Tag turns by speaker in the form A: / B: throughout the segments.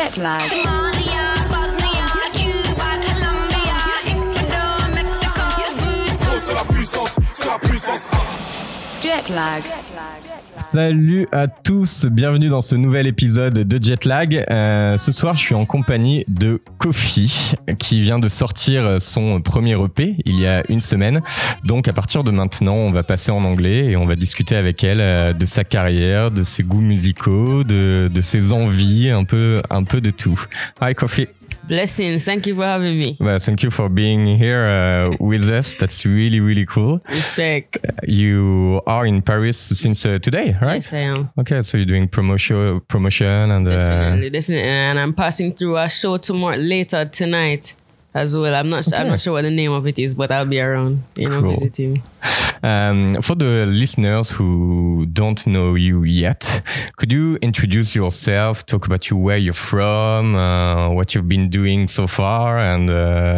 A: Jet lag.
B: Somalia, Bosnia, Cuba, Colombia, Ecuador, Mexico.
C: C'est la puissance.
A: Jet lag.
D: Salut à tous, bienvenue dans ce nouvel épisode de Jetlag. Ce soir, je suis en compagnie de Kofi, qui vient de sortir son premier EP il y a une semaine. Donc à partir de maintenant, on va passer en anglais et on va discuter avec elle de sa carrière, de ses goûts musicaux, de ses envies, un peu de tout. Hi Kofi.
E: Blessings. Thank you for having me.
D: Well, thank you for being here with us. That's really cool.
E: Respect.
D: You are in Paris since today, right?
E: Yes, I am.
D: Okay, so you're doing promotion and
E: Definitely. And I'm passing through a show later tonight as well. I'm not sure what the name of it is, but I'll be around,
D: cool.
E: visiting.
D: For the listeners who don't know you yet, could you introduce yourself, talk about where you're from, what you've been doing so far, and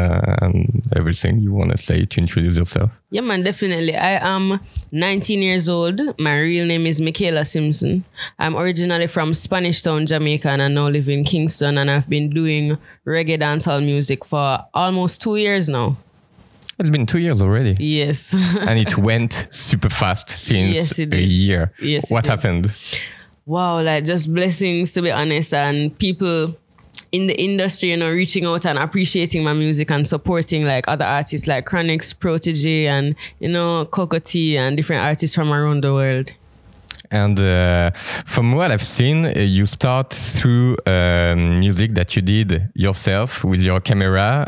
D: everything you want to say to introduce yourself?
E: Yeah, man, definitely. I am 19 years old. My real name is Michaela Simpson. I'm originally from Spanish Town, Jamaica, and I now live in Kingston, and I've been doing reggae dancehall music for almost 2 years now.
D: It's been 2 years already.
E: Yes.
D: And it went super fast since a year.
E: Yes,
D: what happened?
E: Wow, just blessings, to be honest, and people in the industry, reaching out and appreciating my music and supporting other artists like Chronix, Protege, and Cocotti and different artists from around the world.
D: And from what I've seen, you start through music that you did yourself with your camera,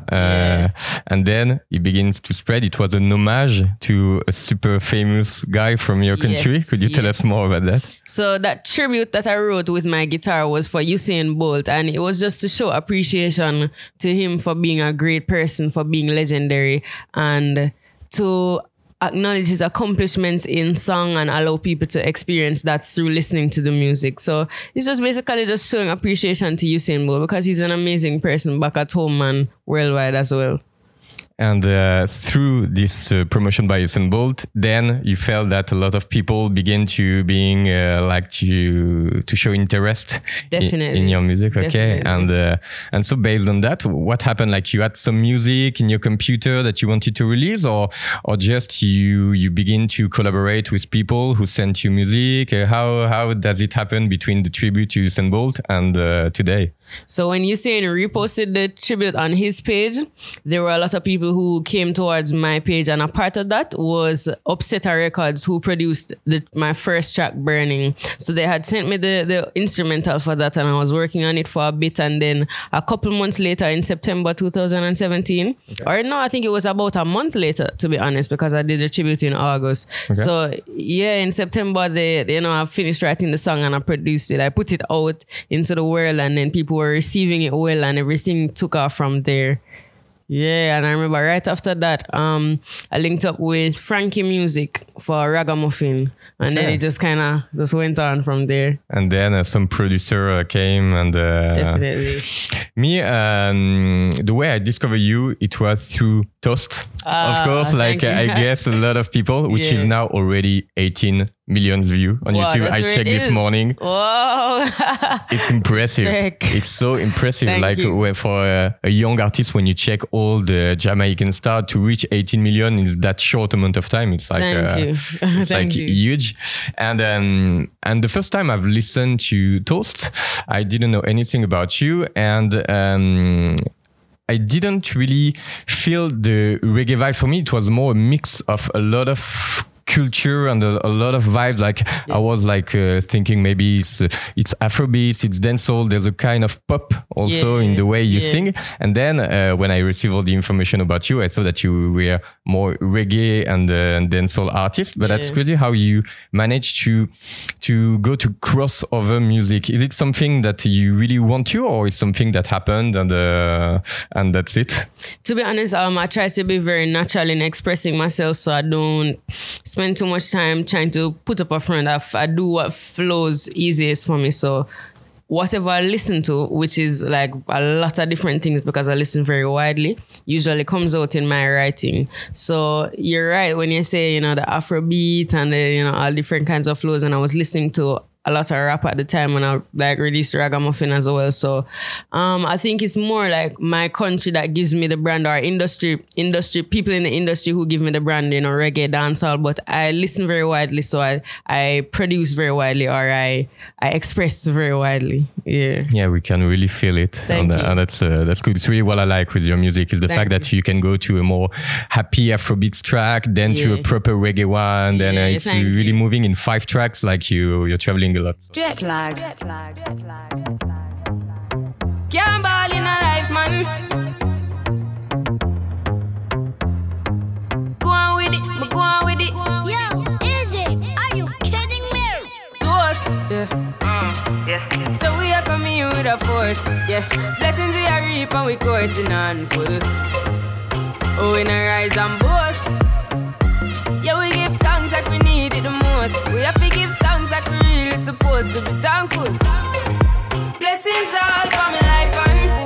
D: and then it begins to spread. It was an homage to a super famous guy from your country. Could you tell us more about that?
E: So that tribute that I wrote with my guitar was for Usain Bolt, and it was just to show appreciation to him for being a great person, for being legendary, and to acknowledge his accomplishments in song and allow people to experience that through listening to the music. So it's just basically just showing appreciation to Usain Bolt because he's an amazing person back at home and worldwide as well.
D: And through this promotion by Usain Bolt, then you felt that a lot of people began to to show interest in your music. Okay.
E: Definitely.
D: And so based on that, what happened? You had some music in your computer that you wanted to release, or just you begin to collaborate with people who sent you music? How does it happen between the tribute to Usain Bolt and today?
E: So when Usain reposted the tribute on his page, there were a lot of people who came towards my page, and a part of that was Upsetter Records, who produced my first track, Burning. So they had sent me the instrumental for that, and I was working on it for a bit, and then a couple months later in September 2017, or no, I think it was about a month later, to be honest, because I did the tribute in August. Okay. So yeah, in September, I finished writing the song and I produced it. I put it out into the world, and then people were receiving it well, and everything took off from there. Yeah, and I remember right after that, I linked up with Frankie Music for Ragamuffin, and then it just kind of went on from there.
D: And then some producer came, and
E: definitely
D: me. The way I discovered you, it was through Toast, of course. I guess a lot of people, which is now already 18 million views on YouTube. I checked this morning.
E: Whoa,
D: it's impressive.
E: Respect.
D: It's so impressive.
E: Thank you.
D: For a young artist, when you check all the Jamaican stars to reach 18 million in that short amount of time, it's
E: Thank you.
D: Huge. And the first time I've listened to Toast, I didn't know anything about you, and I didn't really feel the reggae vibe. For me, it was more a mix of a lot of culture and a lot of vibes. I was thinking maybe it's Afrobeats, it's dancehall. There's a kind of pop also in the way you sing. And then when I received all the information about you, I thought that you were more reggae and dancehall artist. But that's crazy how you managed to go to crossover music. Is it something that you really want to, or is something that happened and that's it?
E: To be honest, I try to be very natural in expressing myself, so I don't spend too much time trying to put up a front. I do what flows easiest for me. So whatever I listen to, which is a lot of different things because I listen very widely, usually comes out in my writing. So you're right when you say, the Afrobeat and all different kinds of flows, and I was listening to a lot of rap at the time when I like released Ragamuffin as well. So I think it's more like my country that gives me the brand, or industry people in the industry who give me the brand, you know, reggae, dancehall. But I listen very widely, so I produce very widely, or I express very widely.
D: Yeah, we can really feel it.
E: Thank you.
D: And that's good. It's really what I like with your music is the fact that you can go to a more happy Afrobeats track, then to a proper reggae one, then it's really moving in 5 tracks, like you're traveling a lot.
A: Jet lag.
B: Can't ball in a life, man. Go on with it.
F: Yo, Izzy, are you kidding me?
B: To us, So we are coming in with a force, Blessings we are reap and we coursing on full. Oh, we not rise and boast. Yeah, we give thanks like we need it the most. We have to give thanks like we really supposed to be thankful. Blessings all for my life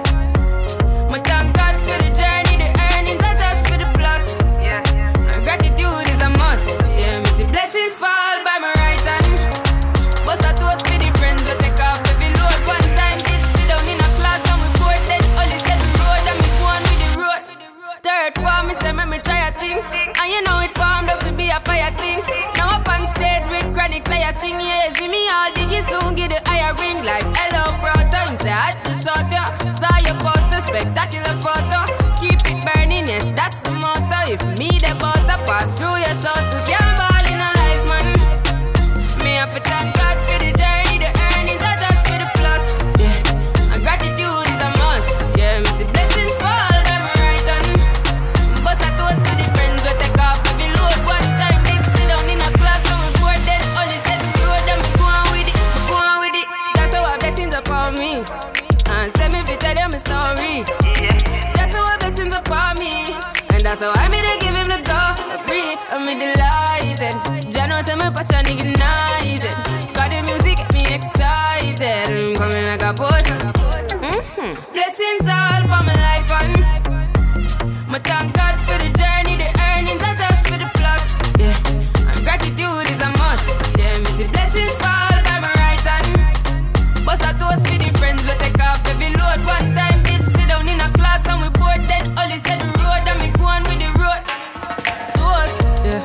B: and my thank God for the journey, the earnings are just for the plus. And gratitude is a must. Me see blessings fall by my right hand. But I toast for the friends we take off every load. One time did sit down in a class and we bored then only said the road and me go on with the road. Third form, me say me try a thing. And you know it formed up to be a fire thing. Now up on stage with chronic, say I sing, yeah. See me all diggy soon, get the higher ring. Like hello, brother, him say I had to shut ya. Saw your poster, spectacular photo. Keep it burning, yes, that's the motto. If me the butter pass through your soul to can't ball in a life, man. Me have to thank God for the journey, the earnings are just for the plus. And gratitude is a must. Me see blessings fall by my right hand. But I toast to the friends we take off every load. One time did sit down in a class and we bored then only said the road and we go on with it. Just show our blessings upon me and send me to tell them my story. Just show our blessings upon me, and that's how I made to give him the glory. I'm delighted. Jah knows my passion ignited. Got the music get me excited. I'm coming like a potion. Blessings all for my life and my thank God for the journey, the earnings are just for the plus. And gratitude is a must. Me see blessings fall by my right hand. But I toast for the friends we take off every load. One time did sit down in a class and we bored then only said the road and me go on with the road. Toast,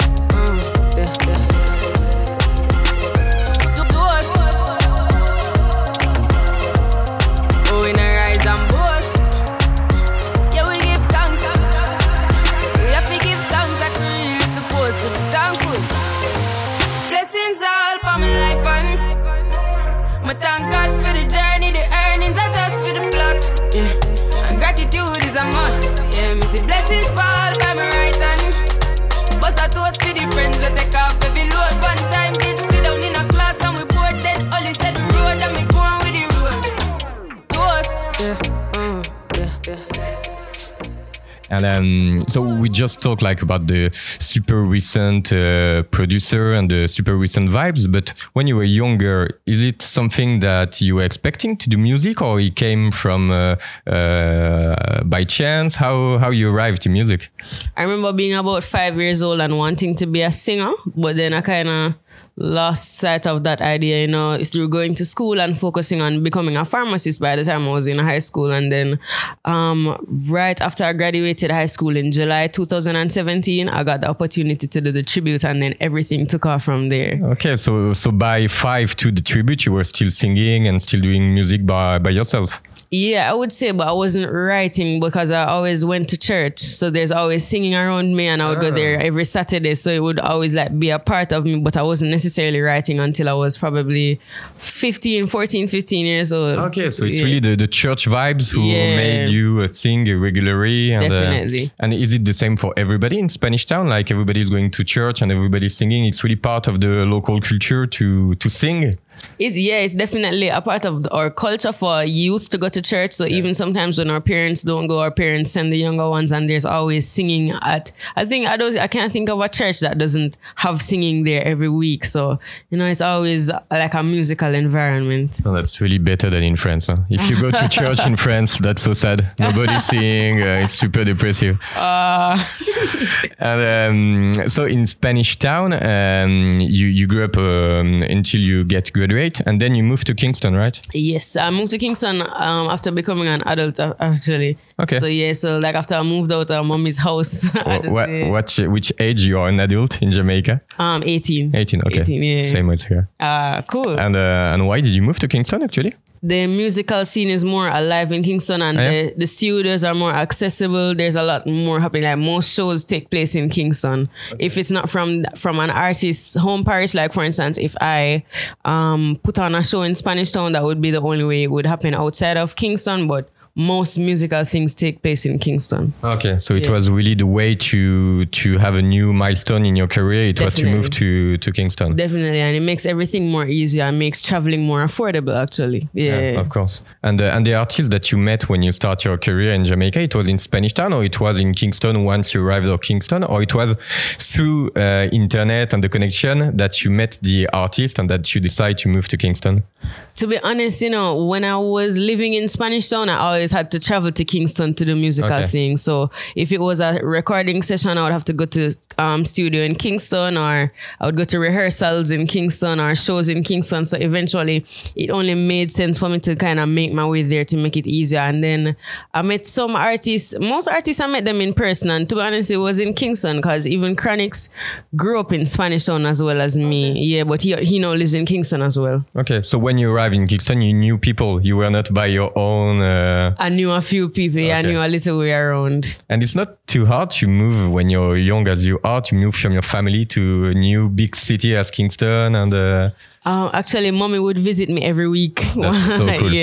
B: Toast. Oh, we not rise and boast. Yeah, we give thanks. We have to give thanks like we really supposed to be thankful. Blessings all for my life and my thank God for the journey, the earnings are just for the plus. And gratitude is a must. Me see blessings fall by my right hand. But I toast for the friends we take off every load. One time did sit down in a class and we bored then only said the road and me go on with the road. Toast.
D: And so we just talked like about the super recent producer and the super recent vibes. But when you were younger, is it something that you were expecting to do music, or it came from by chance? How you arrived to music?
E: I remember being about 5 years old and wanting to be a singer, but then I kind of lost sight of that idea, you know, through going to school and focusing on becoming a pharmacist by the time I was in high school. And then right after I graduated high school in July 2017, I got the opportunity to do the tribute, and then everything took off from there.
D: Okay, so by 5 to the tribute, you were still singing and still doing music by yourself?
E: Yeah, I would say, but I wasn't writing because I always went to church. So there's always singing around me, and I would go there every Saturday. So it would always like be a part of me, but I wasn't necessarily writing until I was probably 15 years old.
D: Okay, so it's really the church vibes who made you sing regularly. And,
E: definitely.
D: And is it the same for everybody in Spanish Town? Like everybody's going to church and everybody's singing. It's really part of the local culture to sing.
E: It's definitely a part of our culture for youth to go to church. So even sometimes when our parents don't go, our parents send the younger ones, and there's always singing at. I can't think of a church that doesn't have singing there every week. So it's always like a musical environment.
D: So that's really better than in France. Huh? If you go to church in France, that's so sad. Nobody's singing. It's super depressive. And so in Spanish Town, you grew up until you get graduated. great. And then you moved to Kingston, right?
E: Yes, I moved to Kingston after becoming an adult, actually.
D: Okay.
E: So yeah, so like after I moved out of mommy's house. I had to say,
D: Which age you are an adult in Jamaica?
E: 18.
D: 18, okay.
E: 18, yeah.
D: Same as here.
E: Cool.
D: And why did you move to Kingston actually?
E: The musical scene is more alive in Kingston, and the studios are more accessible. There's a lot more happening. Like most shows take place in Kingston. Okay. If it's not from an artist's home parish, like for instance, if I put on a show in Spanish Town, that would be the only way it would happen outside of Kingston. But most musical things take place in Kingston.
D: Okay, so it was really the way to have a new milestone in your career. It was to move to Kingston.
E: Definitely, and it makes everything more easier and makes traveling more affordable. Actually, yeah,
D: of course. And the artists that you met when you start your career in Jamaica, it was in Spanish Town, or it was in Kingston once you arrived at Kingston, or it was through internet and the connection that you met the artist and that you decide to move to Kingston.
E: To be honest, when I was living in Spanish Town, I always had to travel to Kingston to do musical things. So if it was a recording session, I would have to go to studio in Kingston, or I would go to rehearsals in Kingston or shows in Kingston. So eventually it only made sense for me to kind of make my way there to make it easier. And then I met some artists. Most artists, I met them in person. And to be honest, it was in Kingston because even Chronixx grew up in Spanish Town as well as me. Yeah, but he now lives in Kingston as well.
D: Okay, so when you arrived in Kingston, you knew people. You were not by your own.
E: I knew a few people. I knew a little way around.
D: And it's not too hard to move when you're young as you are, to move from your family to a new big city as Kingston. And
E: actually, mommy would visit me every week.
D: That's so cool.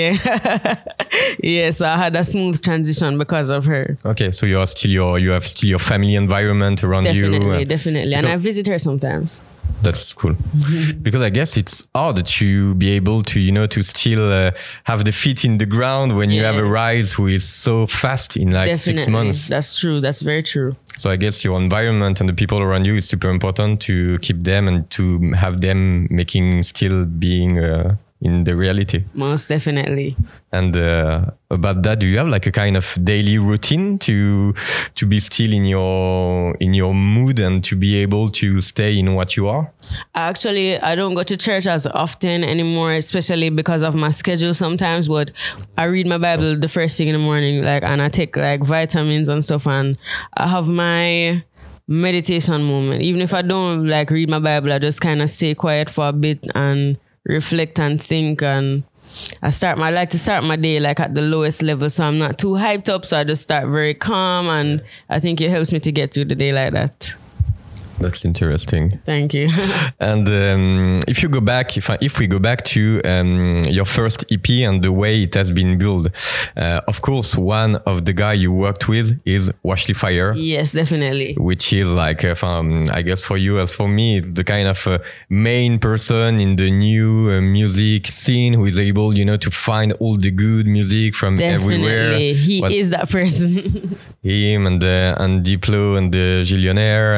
E: Yeah, so I had a smooth transition because of her.
D: Okay, so you have still your family environment around you.
E: Definitely. And I visit her sometimes.
D: That's cool. Because I guess it's hard to be able to, to still have the feet in the ground when you have a rise who is so fast in like 6 months.
E: That's true. That's very true.
D: So I guess your environment and the people around you is super important to keep them and to have them still being in the reality.
E: Most definitely.
D: And about that, do you have like a kind of daily routine to be still in your mood and to be able to stay in what you are?
E: Actually, I don't go to church as often anymore, especially because of my schedule sometimes. But I read my Bible the first thing in the morning, and I take like vitamins and stuff, and I have my meditation moment. Even if I don't like read my Bible, I just kind of stay quiet for a bit and reflect and think, and I like to start my day like at the lowest level, so I'm not too hyped up, so I just start very calm, and I think it helps me to get through the day like that.
D: That's interesting.
E: Thank you.
D: And if we go back to your first EP and the way it has been built, of course, one of the guys you worked with is Washley Fire.
E: Yes, definitely.
D: Which is like, I guess for you as for me, the kind of main person in the new music scene who is able, to find all the good music from everywhere.
E: He is that person.
D: Him and Diplo and the Gillionaire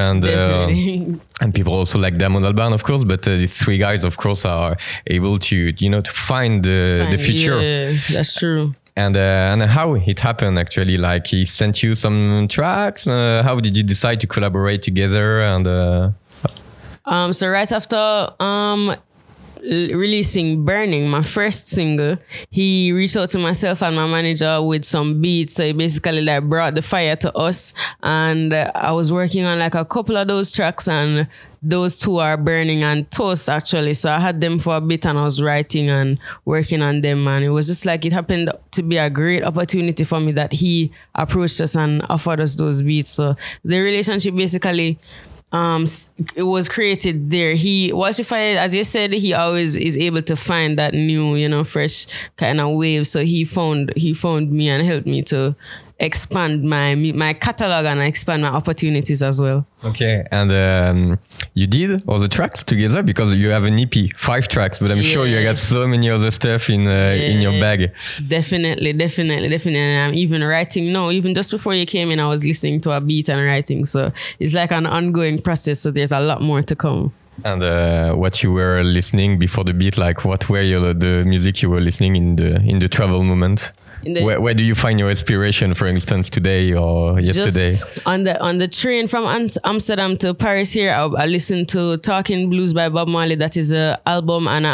D: and people also like Damon Albarn, of course, but these three guys, of course, are able to find the future.
E: Yeah, that's true.
D: And how it happened actually, like he sent you some tracks. How did you decide to collaborate together? And
E: so right after releasing Burning, my first single, he reached out to myself and my manager with some beats. So he basically like brought the fire to us, and I was working on like a couple of those tracks, and those two are Burning and Toast actually. So I had them for a bit and I was writing and working on them, and it was just like it happened to be a great opportunity for me that he approached us and offered us those beats. So the relationship basically it was created there. Washley Fire, as you said, he always is able to find that new, fresh kind of wave. So he found me and helped me to expand my catalog and expand my opportunities as well.
D: Okay, and you did all the tracks together because you have an EP, 5 tracks, but I'm sure you got so many other stuff in your bag.
E: Definitely. And I'm even writing now. Even just before you came in, I was listening to a beat and writing. So it's like an ongoing process. So there's a lot more to come.
D: And what you were listening before the beat, like what were the music you were listening in the travel moment? Where do you find your inspiration, for instance, today or yesterday?
E: Just on the train from Amsterdam to Paris here, I listened to Talking Blues by Bob Marley. That is an album, and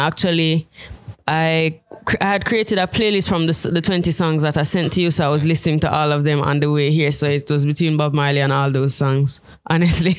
E: I had created a playlist from the 20 songs that I sent to you, so I was listening to all of them on the way here. So it was between Bob Marley and all those songs, honestly.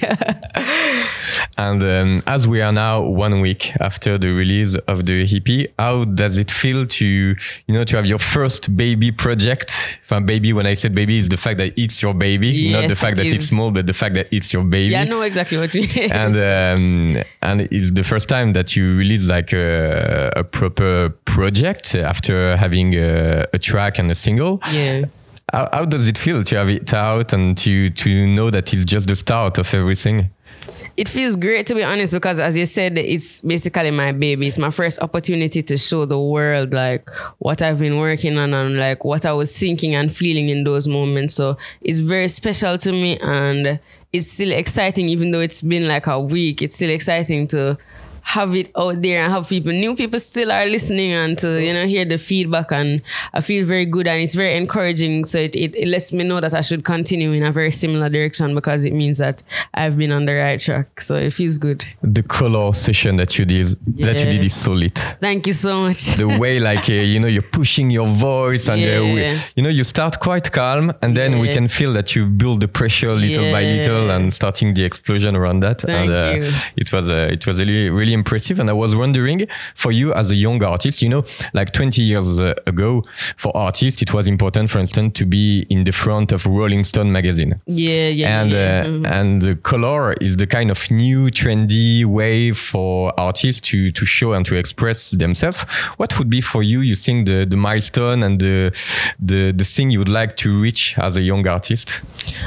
D: And as we are now 1 week after the release of the EP, how does it feel to have your first baby project? Baby, when I said baby, is the fact that it's your baby,
E: yes,
D: not the fact that it's small, but the fact that it's your baby.
E: Yeah, I know exactly what you mean.
D: And it's the first time that you release like a proper project after having a track and a single.
E: Yeah.
D: How does it feel to have it out and to know that it's just the start of everything?
E: It feels great, to be honest, because as you said, it's basically my baby. It's my first opportunity to show the world like what I've been working on and like what I was thinking and feeling in those moments. So it's very special to me, and it's still exciting, even though it's been like a week. It's still exciting to have it out there and have new people still are listening and to, hear the feedback, and I feel very good and it's very encouraging. So it lets me know that I should continue in a very similar direction, because it means that I've been on the right track. So it feels good.
D: The color session that you did is solid.
E: Thank you so much.
D: The way you're pushing your voice and you start quite calm, and then we can feel that you build the pressure little by little and starting the explosion around that.
E: Thank you.
D: It was really impressive. And I was wondering, for you as a young artist, like 20 years ago, for artists, it was important, for instance, to be in the front of Rolling Stone magazine. And the color is the kind of new trendy way for artists to show and to express themselves. What would be for you think, the milestone and the thing you would like to reach as a young artist?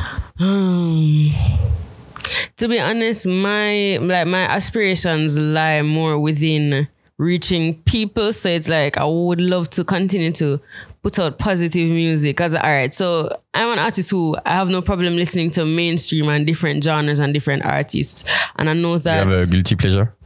E: To be honest, my aspirations lie more within reaching people. So it's like I would love to continue to put out positive music. All right, so I'm an artist who I have no problem listening to mainstream and different genres and different artists. And I know that...
D: You have a guilty pleasure?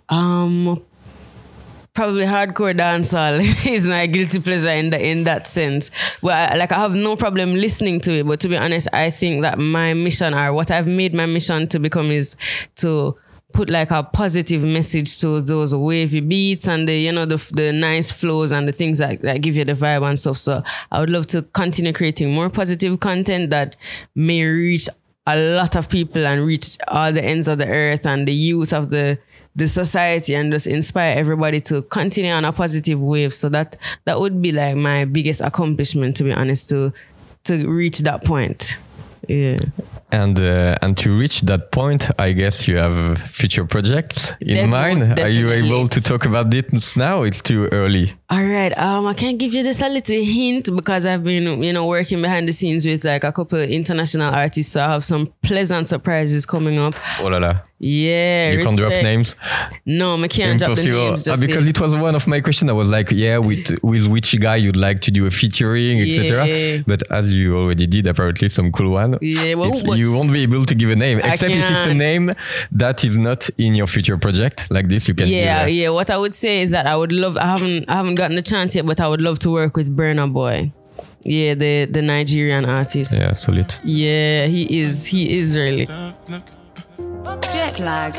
E: Probably hardcore dancehall is my guilty pleasure in that sense. Well, I have no problem listening to it, but to be honest, I think that my mission, or what I've made my mission to become, is to put like a positive message to those wavy beats and the nice flows and the things that give you the vibe and stuff. So I would love to continue creating more positive content that may reach a lot of people and reach all the ends of the earth and the youth of the society, and just inspire everybody to continue on a positive wave. So that would be like my biggest accomplishment, to be honest, to reach that point. Yeah.
D: And to reach that point, I guess you have future projects in mind. Are you able to talk about this now? It's too early.
E: All right. I can give you just a little hint, because I've been, working behind the scenes with like a couple of international artists. So I have some pleasant surprises coming up.
D: Oh la la.
E: Yeah.
D: You can't drop names?
E: No, I can't drop the names.
D: Because it was one of my questions. I was like, with which guy you'd like to do a featuring, etc. But as you already did, apparently some cool one.
E: Yeah, well,
D: you won't be able to give a name, except if it's a name that is not in your future project like this. You can.
E: Yeah. What I would say is that I would love. I haven't gotten the chance yet, but I would love to work with Burna Boy. Yeah, the Nigerian artist.
D: Yeah, solid.
E: Yeah, he is really.
A: Jet lag.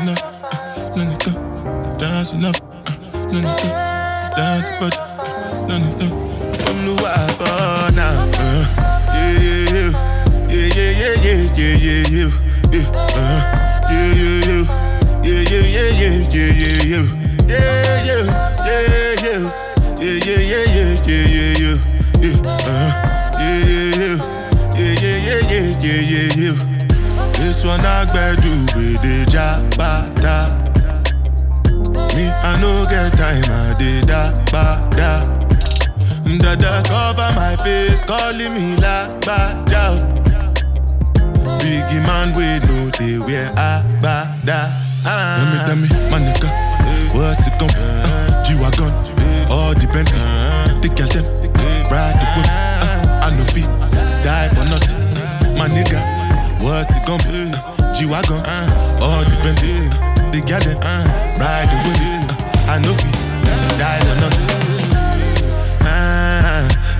C: This one I do with the jabata. Me I no get time, I did da. Dada cover my face, calling me like Baja. Biggie man, we know they wear abada. Tell me, my nigga, what's it gon' G-Wagon, all depend. The girl them, ride the whip. I no fit, die for nothing. My nigga, what's it gon' be? G-Wagon, all depend. The girl them, ride the whip. I no fit, die for nothing.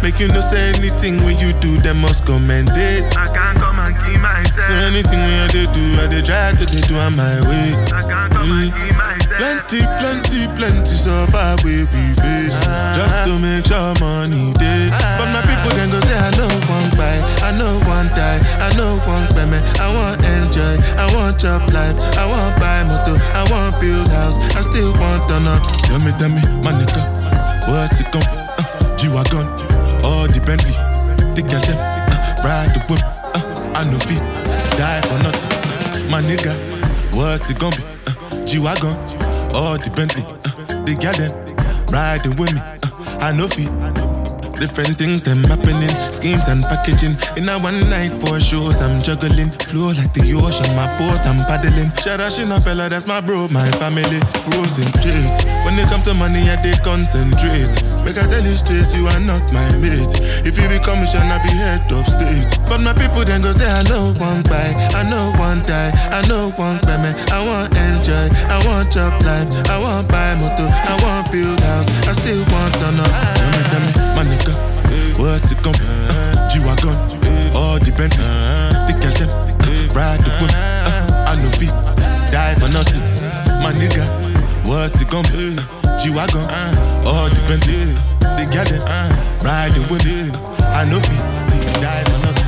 C: Make you know say anything when you do, they must commend it. I can't come and keep myself. So anything when they do, I they try to do on my way. I can't come and keep myself. Plenty so far we face. Just to make sure money day. But my people then go say I know one buy, I know one die, I know one payment. I want enjoy, I want job life, I want buy motor, I want build house, I still want to know. Tell me, my nigga, what's it come? G-Wagon, all the Bentley, the girl them, ride the whip, I know feet, die for nothing. My nigga, what's it gonna be? G-Wagon, all the Bentley, the girl them, riding with me, I know feet. Different things them happening, schemes and packaging. In a one night for shows I'm juggling. Flow like the ocean, my boat I'm paddling. Shout out Shinapella, that's my bro, my family. Frozen trace. When it comes to money, I they concentrate. Make I tell you straight, you are not my mate. If you become mission, I be head of state. But my people then go say I know one buy, I know one die, I know one payment. I want enjoy, I want job life, I want buy motor, I want build house, I still want to know. Tell me, my nigga, what's it gonna be? G-Wagon, all the Bentley, the girl them, ride the whip, I know feet, die for nothing. My nigga, what's it gonna be? G-Wagon, all the Bentley, the girl them, ride the whip, I know feet, die for nothing.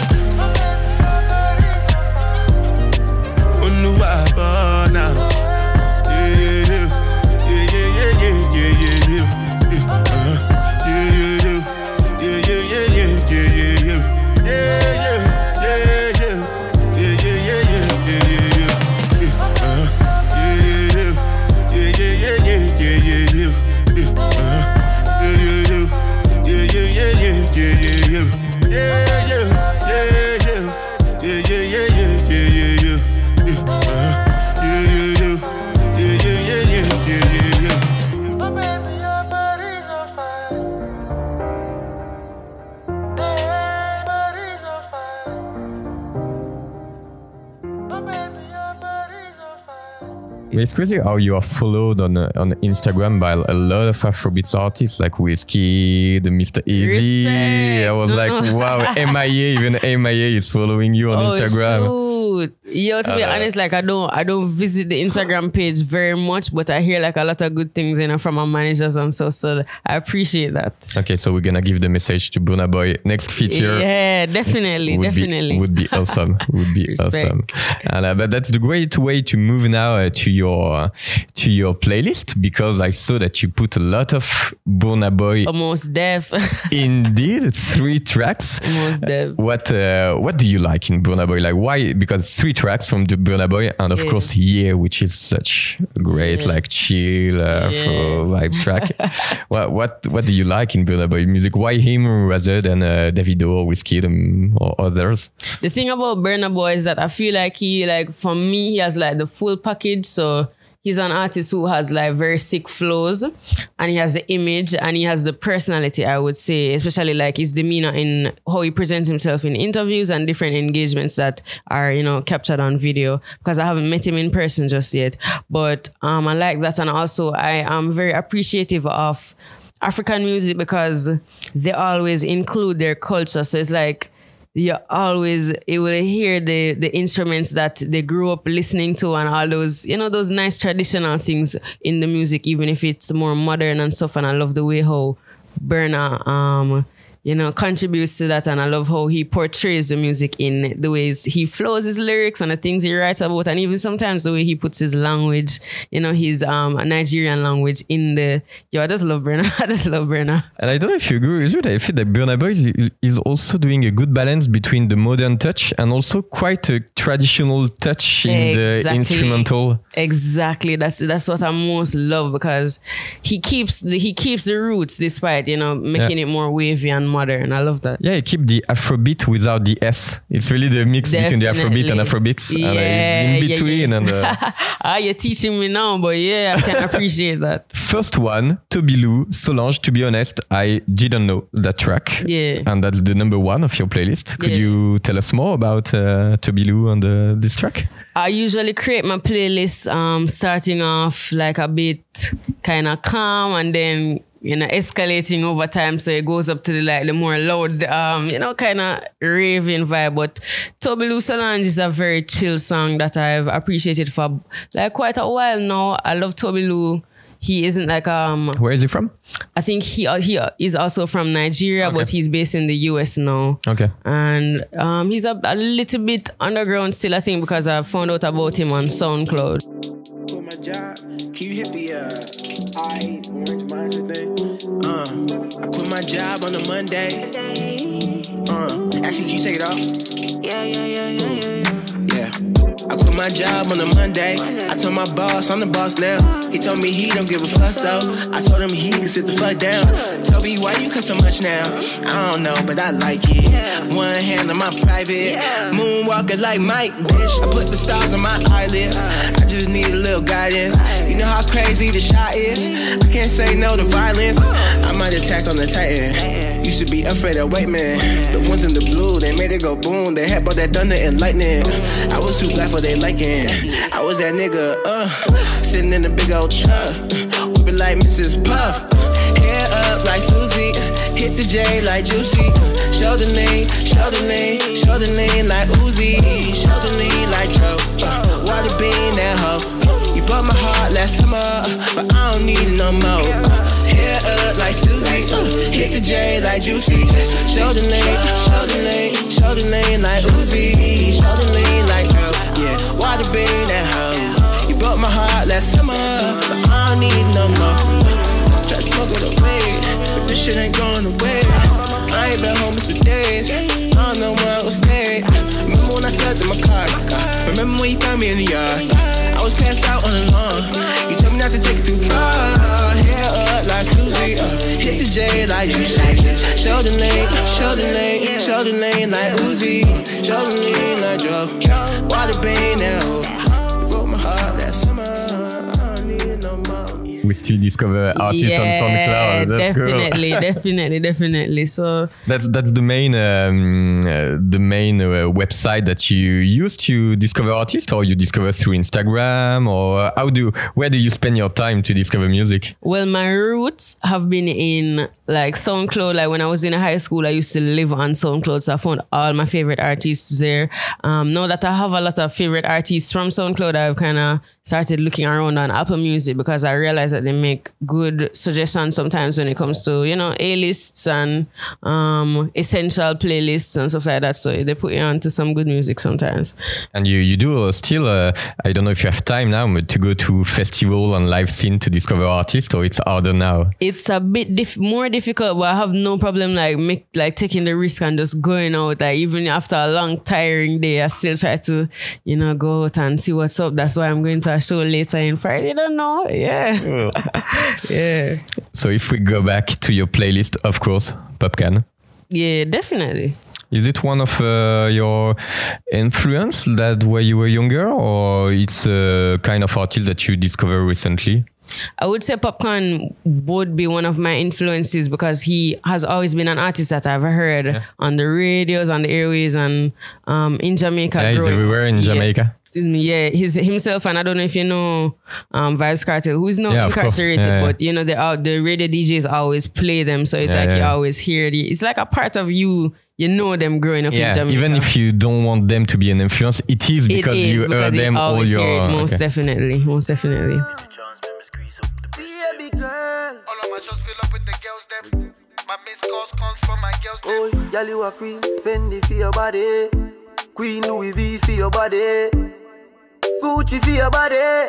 C: Oh no, I burn now.
D: It's crazy how you are followed on Instagram by a lot of Afrobeats artists like Whiskey, the Mr. Easy.
E: Respect.
D: I was like, wow, MIA, even MIA is following you on Instagram.
E: Shoot. Yo, to be honest, like I don't visit the Instagram page very much, but I hear like a lot of good things, from our managers and so I appreciate that.
D: Okay, so we're gonna give the message to Burna Boy. Next feature.
E: Yeah, definitely.
D: Would be awesome. Would be awesome. And but that's the great way to move now to your playlist, because I saw that you put a lot of Burna Boy.
E: Almost deaf.
D: Indeed, 3 tracks.
E: Almost deaf.
D: What do you like in Burna Boy? Like why? Because 3 tracks from the Burna Boy, and of course Yeah, which is such a great like chill vibes track. What do you like in Burna Boy music? Why him rather than Davido or Wizkid or others?
E: The thing about Burna Boy is that I feel like for me, he has like the full package. So he's an artist who has like very sick flows, and he has the image and he has the personality, I would say, especially like his demeanor in how he presents himself in interviews and different engagements that are, captured on video, because I haven't met him in person just yet. But I like that. And also I am very appreciative of African music because they always include their culture. So it's like, you will hear the instruments that they grew up listening to and all those, those nice traditional things in the music, even if it's more modern and stuff. And I love the way how Burna, contributes to that. And I love how he portrays the music in the ways he flows his lyrics and the things he writes about. And even sometimes the way he puts his language, his Nigerian language in the... I just love Burna. I just love Burna.
D: And I don't know if you agree with me, I feel that Burna Boy is also doing a good balance between the modern touch and also quite a traditional touch in the instrumental.
E: Exactly. That's what I most love, because he keeps the roots despite, making it more wavy and modern. I love that.
D: Yeah, he keep the Afrobeat without the S. It's really the mix between the Afrobeat and Afrobeats.
E: Yeah,
D: and in between.
E: Yeah.
D: And
E: you're teaching me now, but I can appreciate that.
D: First one, Toby Lou, Solange. To be honest, I didn't know that track.
E: Yeah.
D: And that's the number 1 of your playlist. Could you tell us more about Toby Lou and this track?
E: I usually create my playlist starting off like a bit kind of calm and then escalating over time. So it goes up to the more loud, kind of raving vibe. But Toby Lou Solange is a very chill song that I've appreciated for quite a while now. I love Toby Lou. He isn't
D: Where is he from?
E: I think he is also from Nigeria, but he's based in the US now.
D: Okay.
E: And he's a little bit underground still, I think, because I found out about him on SoundCloud.
G: Quit my job. Can you hit the orange monitor thing? I quit my job on a Monday. Actually, can you take it off? Yeah. I quit my job on a Monday. I told my boss I'm the boss now. He told me he don't give a fuck, so I told him he can sit the fuck down. Told me why you cut so much now? I don't know, but I like it. One hand on my private, moonwalking like Mike, bitch. I put the stars on my eyelids. I just need a little guidance. You know how crazy the shot is. I can't say no to violence. I might attack on the Titan. You should be afraid of white men. The ones in the blue, they made it go boom. They had brought that thunder and lightning. I was too black for they liking. I was that nigga, sitting in a big old truck, whipping like Mrs. Puff. Hair up like Susie, hit the J like Juicy. Shoulder lean like Uzi. Shoulder lean like Joe. Water bean that hoe. You bought my heart last summer, but I don't need it no more. Hair up like Susie, hit the J like Juicy. Shoulder lean like Uzi. Shoulder lean like Joe. Yeah, water bean that hoe. You broke my heart last summer, but I don't need no more. Try to smoke it away, but this shit ain't going away. I ain't been homeless for days. I don't know where I was staying. Remember when I slept in my car? Remember when you found me in the yard? I was passed out on the lawn. You told me not to take it too far. Hair up like Susie, hit the J like Juicy. Shoulder lean like Uzi. Shoulder lean like Joe. Water bean now. Broke my heart that summer. I don't need no more.
D: We still discover artists on SoundCloud. That's
E: definitely. So
D: that's the main website that you use to discover artists, or you discover through Instagram, or where do you spend your time to discover music?
E: Well, my roots have been in SoundCloud. When I was in high school, I used to live on SoundCloud, so I found all my favorite artists there. Now that I have a lot of favorite artists from SoundCloud, I've kind of started looking around on Apple Music, because I realized that they make good suggestions sometimes when it comes to, A-lists and essential playlists and stuff like that. So they put you on to some good music sometimes.
D: And you do still, I don't know if you have time now, but to go to festival and live scene to discover artists, or it's harder now? It's
E: a bit more difficult, but I have no problem taking the risk and just going out. Even after a long, tiring day, I still try to, go out and see what's up. That's why I'm going to a show later in Friday. I don't know. Yeah. Yeah.
D: So if we go back to your playlist, of course, Popcaan.
E: Yeah, definitely.
D: Is it one of your influence that when you were younger, or it's a kind of artist that you discovered recently?
E: I would say Popcaan would be one of my influences, because he has always been an artist that I've heard on the radios, on the airways, and in Jamaica.
D: Yeah, he's everywhere in Jamaica.
E: Yeah, he's himself, and I don't know if you know Vybz Kartel, who's not incarcerated, but the radio DJs always play them, so it's you always hear it's like a part of you. You know them growing up in Jamaica.
D: Even if you don't want them to be an influence, it is because you heard them all your...
E: Most definitely.
G: Baby girl. All of my shows fill up with the girls them. My missed calls comes from my girls them. Oh, girl, you a queen. Fendi for your body. Queen Louis V for your body. Gucci for your body.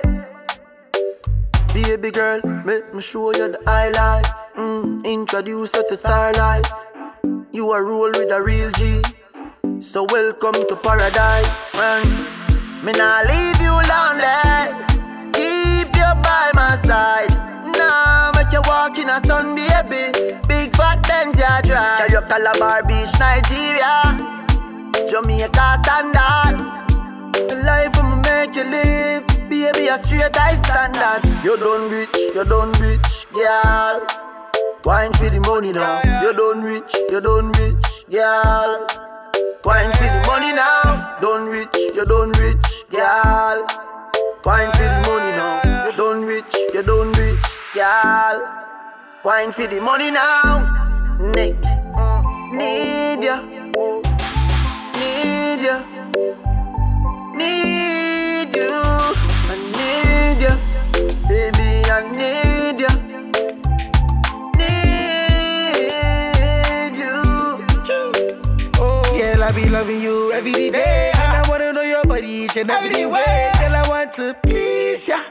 G: Baby girl, make me show you the high life. Introduce you to star life. You a roll with a real G. So welcome to paradise. Me nah leave you lonely. Keep you by my side. Nah, make you walk in a sun, baby. Big fat Benz you drive. Carry your Calabar Beach, Nigeria. Jamaica standards. The life I'ma make you live. Baby, a straight high standard. You done rich, girl. Wine for the money now. You done rich, girl. Wine for the money now. Done rich, girl. Wine for the money now. You done rich, girl.
H: Wine for the money now. Nick, need ya, need ya, need you. I need ya, baby, I need ya, need you.
I: Girl, I be loving you every day, and I wanna know your body each and every way. Girl, I want to please ya,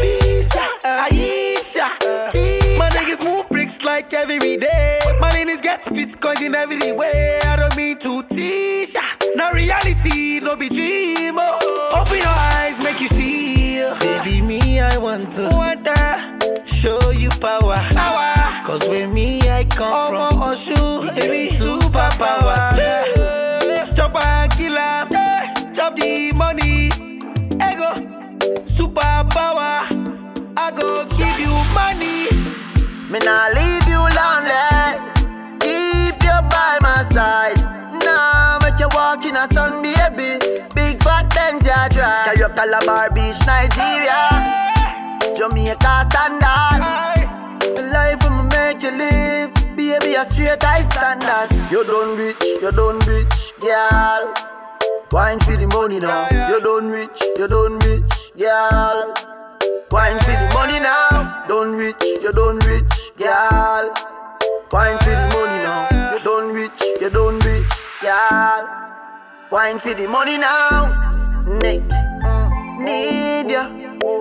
I: Aisha. My niggas move bricks like every day. My niggas get split coins in every way. I don't mean to tease ya. No reality, no be dream. Open your eyes, make you see. Baby, me, I want to show you power. Cause with me, I come from Oshu. Baby, superpowers. Chop and kill 'em. Chop the money. Ego, superpower. I go give you money.
H: Me nah leave you lonely. Keep you by my side. Nah, make you walk in a sun, baby. Big fat Benz, ya drive. Carry up Calabar Beach, Nigeria. Jamaica standards. Life I'ma make you live. Baby, a straight high standard. You done rich, girl. Wine for the money now. You done rich, girl. Wine for the money now. Done rich, girl. Wine for the money now. You done rich, girl. Wine for the money now. Nick, need ya,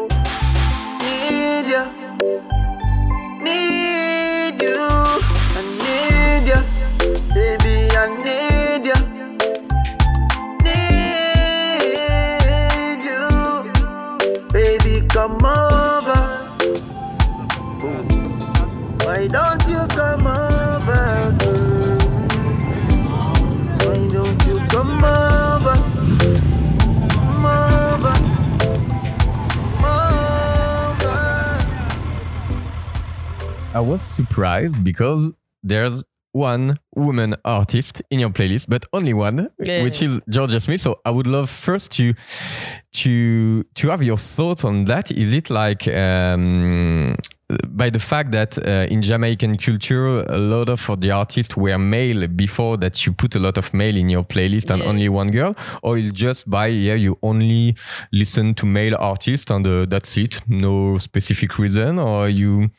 H: need ya, need you. I need ya, baby, I need ya, need you. Baby, come over. Why don't you come over, girl? Why don't you come over? Come over. Come over.
D: I was surprised because there's one woman artist in your playlist, but only one, which is Georgia Smith. So I would love first to have your thoughts on that. Is it like by the fact that in Jamaican culture, a lot of the artists were male before that you put a lot of male in your playlist and only one girl, or is just by you only listen to male artists and that's it, no specific reason, or you?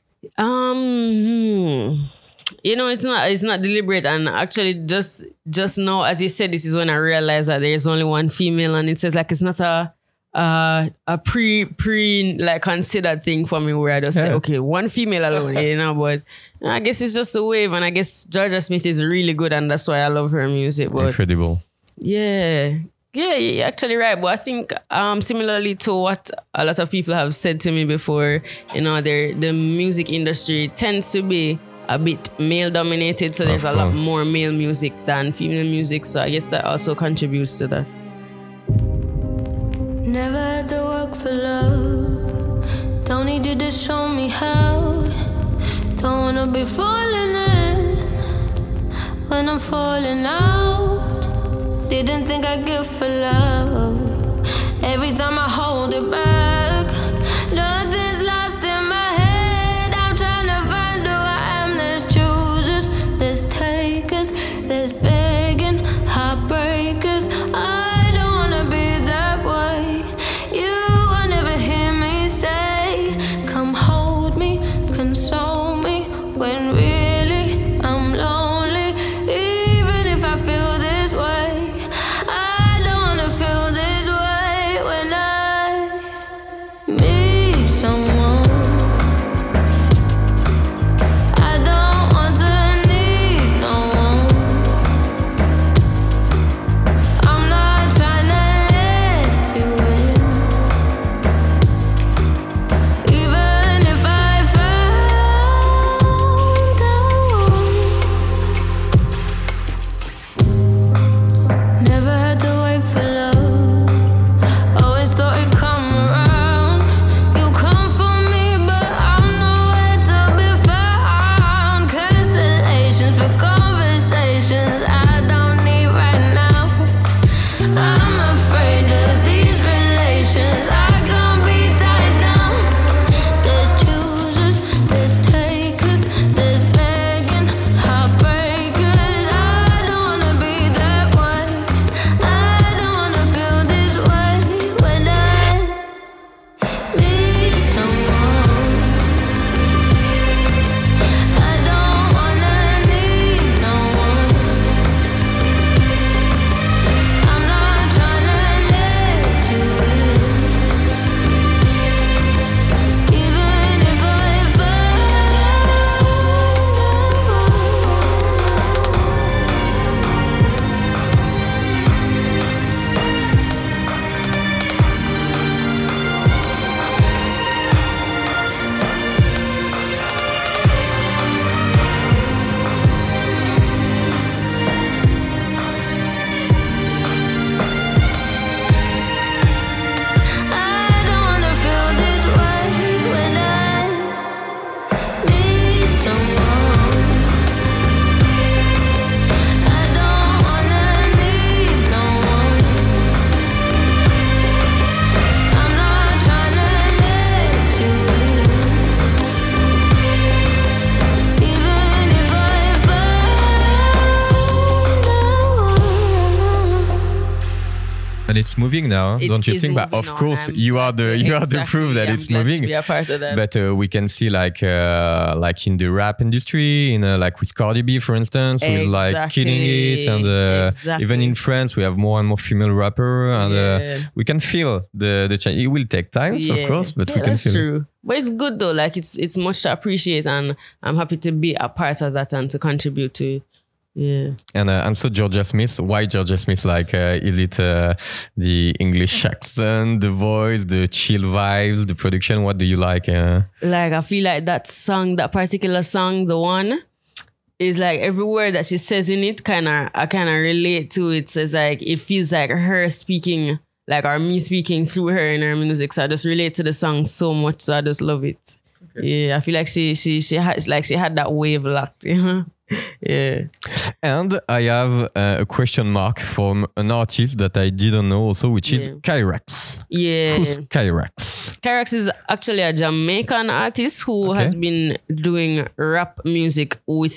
E: You know, it's not deliberate, and actually just now, as you said, this is when I realized that there is only one female, and it says like it's not a pre like considered thing for me where I just say okay, one female alone, you know. But I guess it's just a wave, and I guess Georgia Smith is really good, and that's why I love her music. But
D: incredible.
E: Yeah, you're actually right. But I think similarly to what a lot of people have said to me before, you know, the music industry tends to be a bit male dominated, so there's a lot more male music than female music. So I guess that also contributes to that.
J: Never had to work for love. Don't need you to show me how. Don't wanna be falling in when I'm falling out. Didn't think I'd give for love. Every time I hold it back, nothing's lost in my head. I'm trying to find who I am. There's choosers, there's takers, there's begging, heartbreakers. I don't wanna be that way. You will never hear me say, come hold me, console me, when really I'm lonely. Even if I feel this way, I don't wanna feel this way when I
D: But it's moving now,
E: It
D: don't you
E: is
D: think? But of
E: moving on.
D: course,
E: I'm
D: you are
E: glad
D: the
E: to-
D: proof that
E: exactly.
D: it's
E: I'm glad to
D: moving.
E: be a part of that.
D: But we can see like in the rap industry, like with Cardi B, for instance, who is like killing it, and
E: Exactly.
D: even in France, we have more and more female rapper, and
E: Yeah.
D: we can feel the change. It will take time, of course, but we can
E: that's
D: feel.
E: true. But it's good though. Like it's much to appreciate, and I'm happy to be a part of that and to contribute to it. Yeah.
D: And so Georgia Smith, why Georgia Smith? Like, is it the English accent, the voice, the chill vibes, the production? What do you like?
E: Like I feel like that particular song, the one, is like every word that she says in it, I kind of relate to it. So it's like it feels like her speaking, like or me speaking through her in her music. So I just relate to the song so much. So I just love it. Okay. Yeah, I feel like she had that wave locked. You know? Yeah.
D: And I have a question mark from an artist that I didn't know also, which is Kyrax.
E: Yeah.
D: Who's Kyrax?
E: Kyrax is actually a Jamaican artist who has been doing rap music with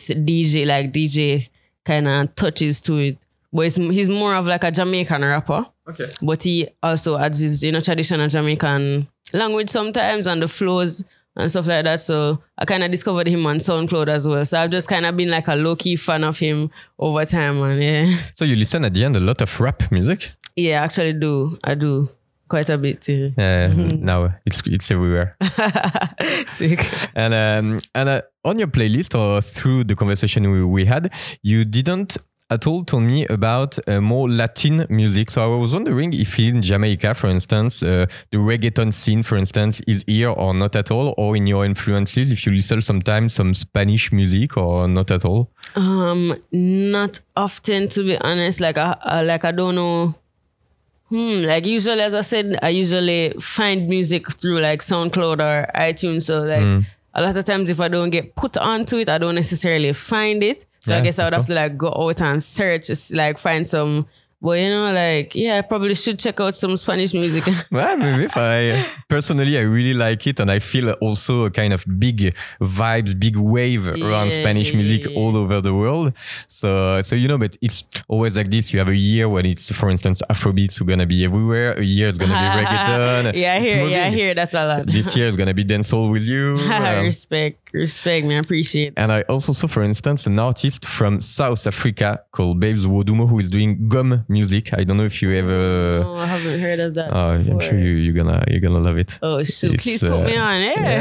E: DJ kind of touches to it. But he's more of like a Jamaican rapper. Okay. But he also adds his traditional Jamaican language sometimes and the flows and stuff like that. So I kind of discovered him on SoundCloud as well. So I've just kind of been like a low-key fan of him over time. And yeah.
D: So you listen at the end a lot of rap music?
E: Yeah, I actually do. I do. Quite a bit. Yeah.
D: Now it's everywhere.
E: Sick.
D: And on your playlist or through the conversation we had, you didn't at all told me about more Latin music. So I was wondering if in Jamaica, for instance, the reggaeton scene, for instance, is here or not at all, or in your influences, if you listen sometimes some Spanish music or not at all?
E: Not often, to be honest. Like I don't know. Like usually, as I said, I usually find music through like SoundCloud or iTunes. So like a lot of times if I don't get put onto it, I don't necessarily find it. So I guess I would have to like go out and search, like find some. But I probably should check out some Spanish music.
D: Well, maybe if I really like it, and I feel also a kind of big vibes, big wave around Spanish music all over the world. So but it's always like this. You have a year when it's, for instance, Afrobeats are gonna be everywhere. A year it's gonna be reggaeton.
E: I hear that a lot.
D: This year is gonna be dancehall with you.
E: Respect, me, I appreciate.
D: And I also saw, for instance, an artist from South Africa called Babes Wodumo who is doing gum music. I don't know if you ever.
E: No, I haven't heard of that.
D: I'm sure you're gonna love it.
E: Oh shoot! Please put me on.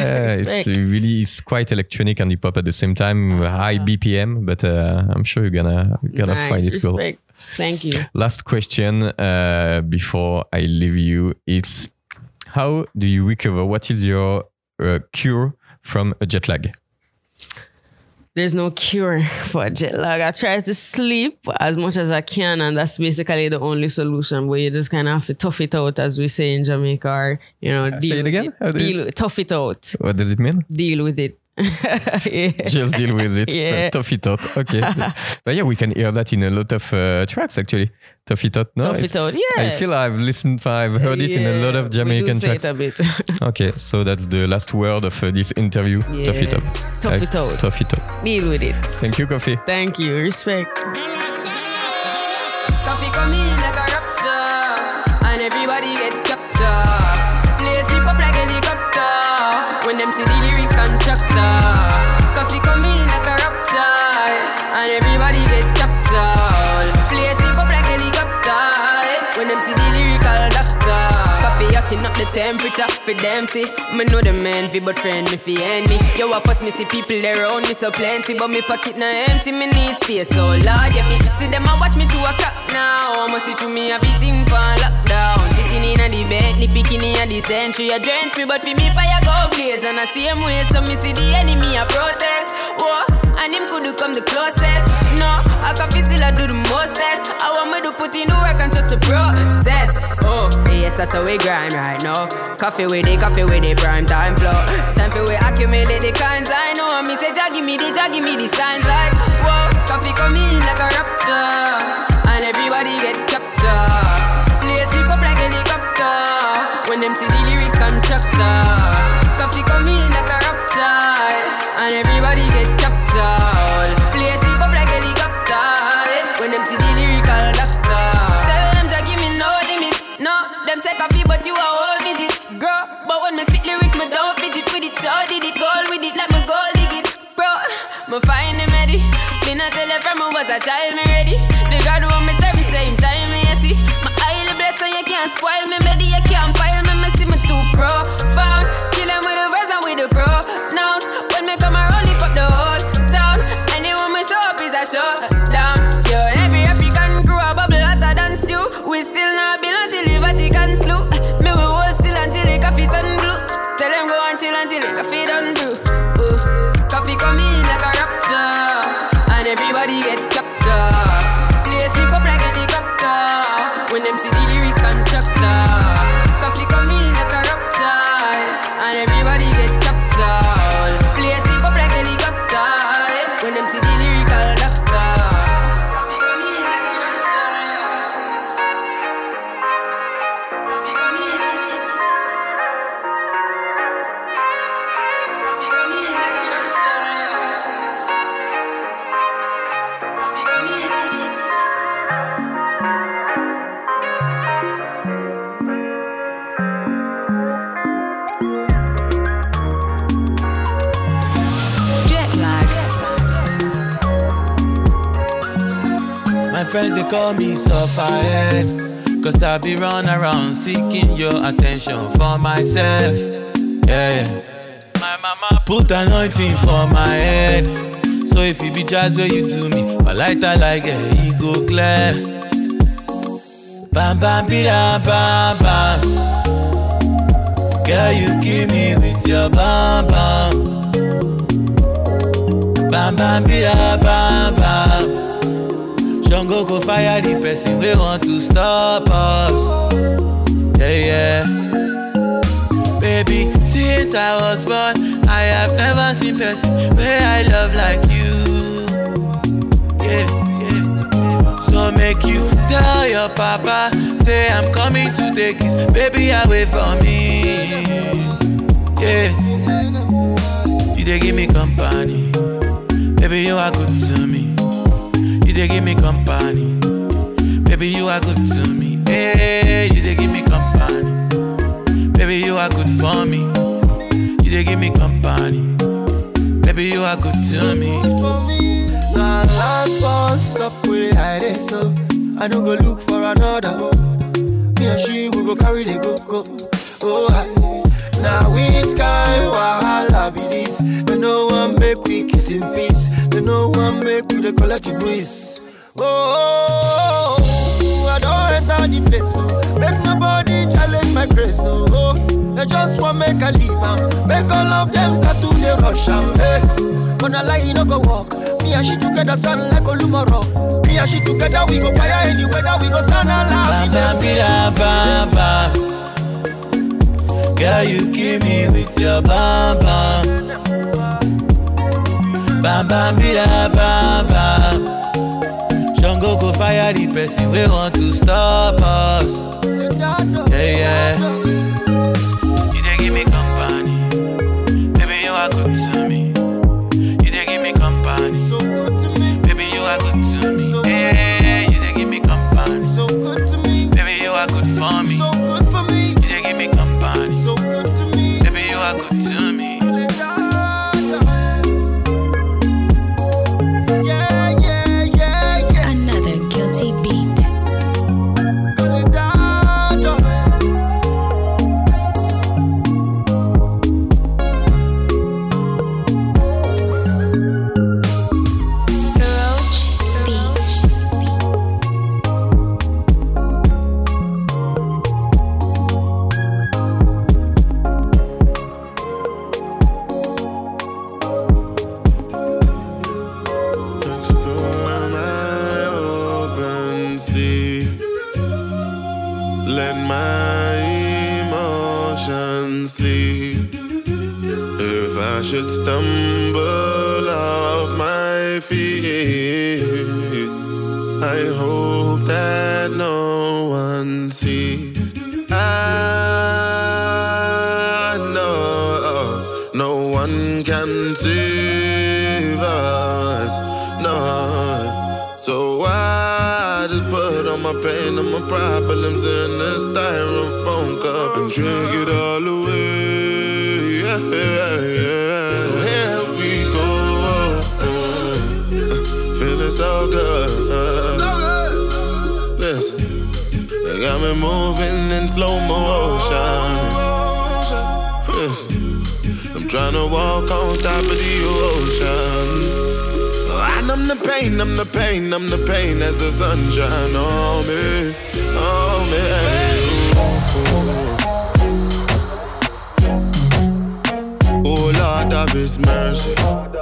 D: It's quite electronic and hip hop at the same time, high BPM. But I'm sure you're gonna find it cool.
E: Thank you.
D: Last question before I leave you. It's how do you recover? What is your cure from a jet lag?
E: There's no cure for jet lag. I try to sleep as much as I can, and that's basically the only solution. But you just kind of have to tough it out, as we say in Jamaica, or deal
D: say it again.
E: Tough it out.
D: What does it mean?
E: Deal with it.
D: Just deal with it.
E: Yeah.
D: Tough it out. Okay. But yeah, we can hear that in a lot of tracks actually. Tough it out. No,
E: Tough it out. Yeah.
D: I feel I've heard it in a lot of Jamaican tracks.
E: Say it a bit.
D: Okay, so that's the last word of this interview.
E: Yeah.
D: Tough it out.
E: Tough it out.
D: Tough it out.
E: Deal with it.
D: Thank you, Koffee.
E: Thank you. Respect.
B: Koffee come in like a rapture, and everybody get captured. Play sleep up like helicopter when them see the lyrics constructor. Koffee come in like a rapture, and everybody get captured. Play sleep up like helicopter when them see the lyrical doctor. Koffee hotting up the temperature for them see. Me know the man fi but friend me fi enemy. Yo I fuss me see people there around me so plenty, but me pocket na empty. Me need space so Lord yeah me see them a watch me to a clock now. I must see through me everything for lockdown. Sitting in a the bed, ni picking in a the century. A drench me but fi me fire go blaze. And I same way so me see the enemy a protest. Whoa, and him could come the closest. No, I can feel still I do the mostest. I want me to put in the work and trust the process. Oh, yes that's how we grind right now. Coffee with the prime time flow. Time for we accumulate the kinds I know. Me say Jah give me the signs like whoa. Coffee come in like a rapture, and everybody get captured. Play sleep up like helicopter when them see the lyrics constructor. Coffee come in like a rapture, and everybody get captured. Play sleep up like helicopter when them see the lyrical doctor. Tell them Jah give me no limit. show did it, goal with it, let me go dig it. Bro, me find him ready. Me not tell her from I was a child, me ready. The God who me serve the same time, me you see. My highly blessed so you can't spoil me, baby, you can't pile me, me see me too profound. Kill him with the verse and with the pronouns. When me come around, lift up the whole town. Anyone me show up is a showdown. Yo, every African crew a bubble hotter than stew. We still not build until the Vatican slew. Me we hold still until the coffee turn blue. Tell them go and chill until the coffee done do. Coffee come in like a rapture, and everybody get captured. Play sleep up like a helicopter when them see the lyrics constructor. Coffee come in like a rapture, and everybody get captured. Play sleep up like a helicopter when them see the lyrical doctor. Coffee come in like a rapture. Coffee come in. Coffee come in like a rapture.
K: My friends, they call me Sufferhead, 'cause I be run around seeking your attention for myself. Yeah. My mama put anointing for my head, so if you be jazz where you do me, my lighter like he go clear. Bam bam bida bam bam, girl you kill me with your bam bam. Bam bam bida bam bam. Jungle go fire the person we want to stop us. Yeah. Baby, since I was born, I have never seen person where I love like you. Yeah. So make you tell your papa, say I'm coming to take his baby away from me. Yeah. You they give me company, baby you are good to me. You give me company, baby you are good to me. Hey, you they give me company, baby you are good for me. You they give me company, baby you are good to me.
I: Now last bus stop where I dey so I don't go look for another. Me and she we go carry the go. Oh hi. Now which kind wahala be this? They no one make we kiss in peace. They no one make we collect the breeze. Oh, I don't enter the place. So make nobody challenge my grace. Oh, they just want make a leave. Make all of them start to the rush. Hey, gonna lie, you no go walk. Me and she together stand like Olumoro. Me and she together we go fire anywhere that we go stand alive.
K: Bam bam bam. Girl, you kill me with your bam bam. Bam bam bida bam bam. Jungle go fire the person we want to stop us. Yeah. You they give me company, baby you are good to me. You they give me company, so good to me. Baby you are good to me. Yeah, you they give me company, so good to me. Baby you are good for me, so good for me. You they give me company, so good to me. Baby you are good to me.
C: Let my emotions sleep. If I should stumble off my feet, I hope that no one sees. I know no one can save us, no. So I just put all my pain and my problems in a styrofoam cup and drink it all away. Yeah. we're moving in slow motion. I'm trying to walk on top of the ocean. And I'm the pain, I'm the pain, I'm the pain as the sunshine on me, on me. Oh Lord of His mercy.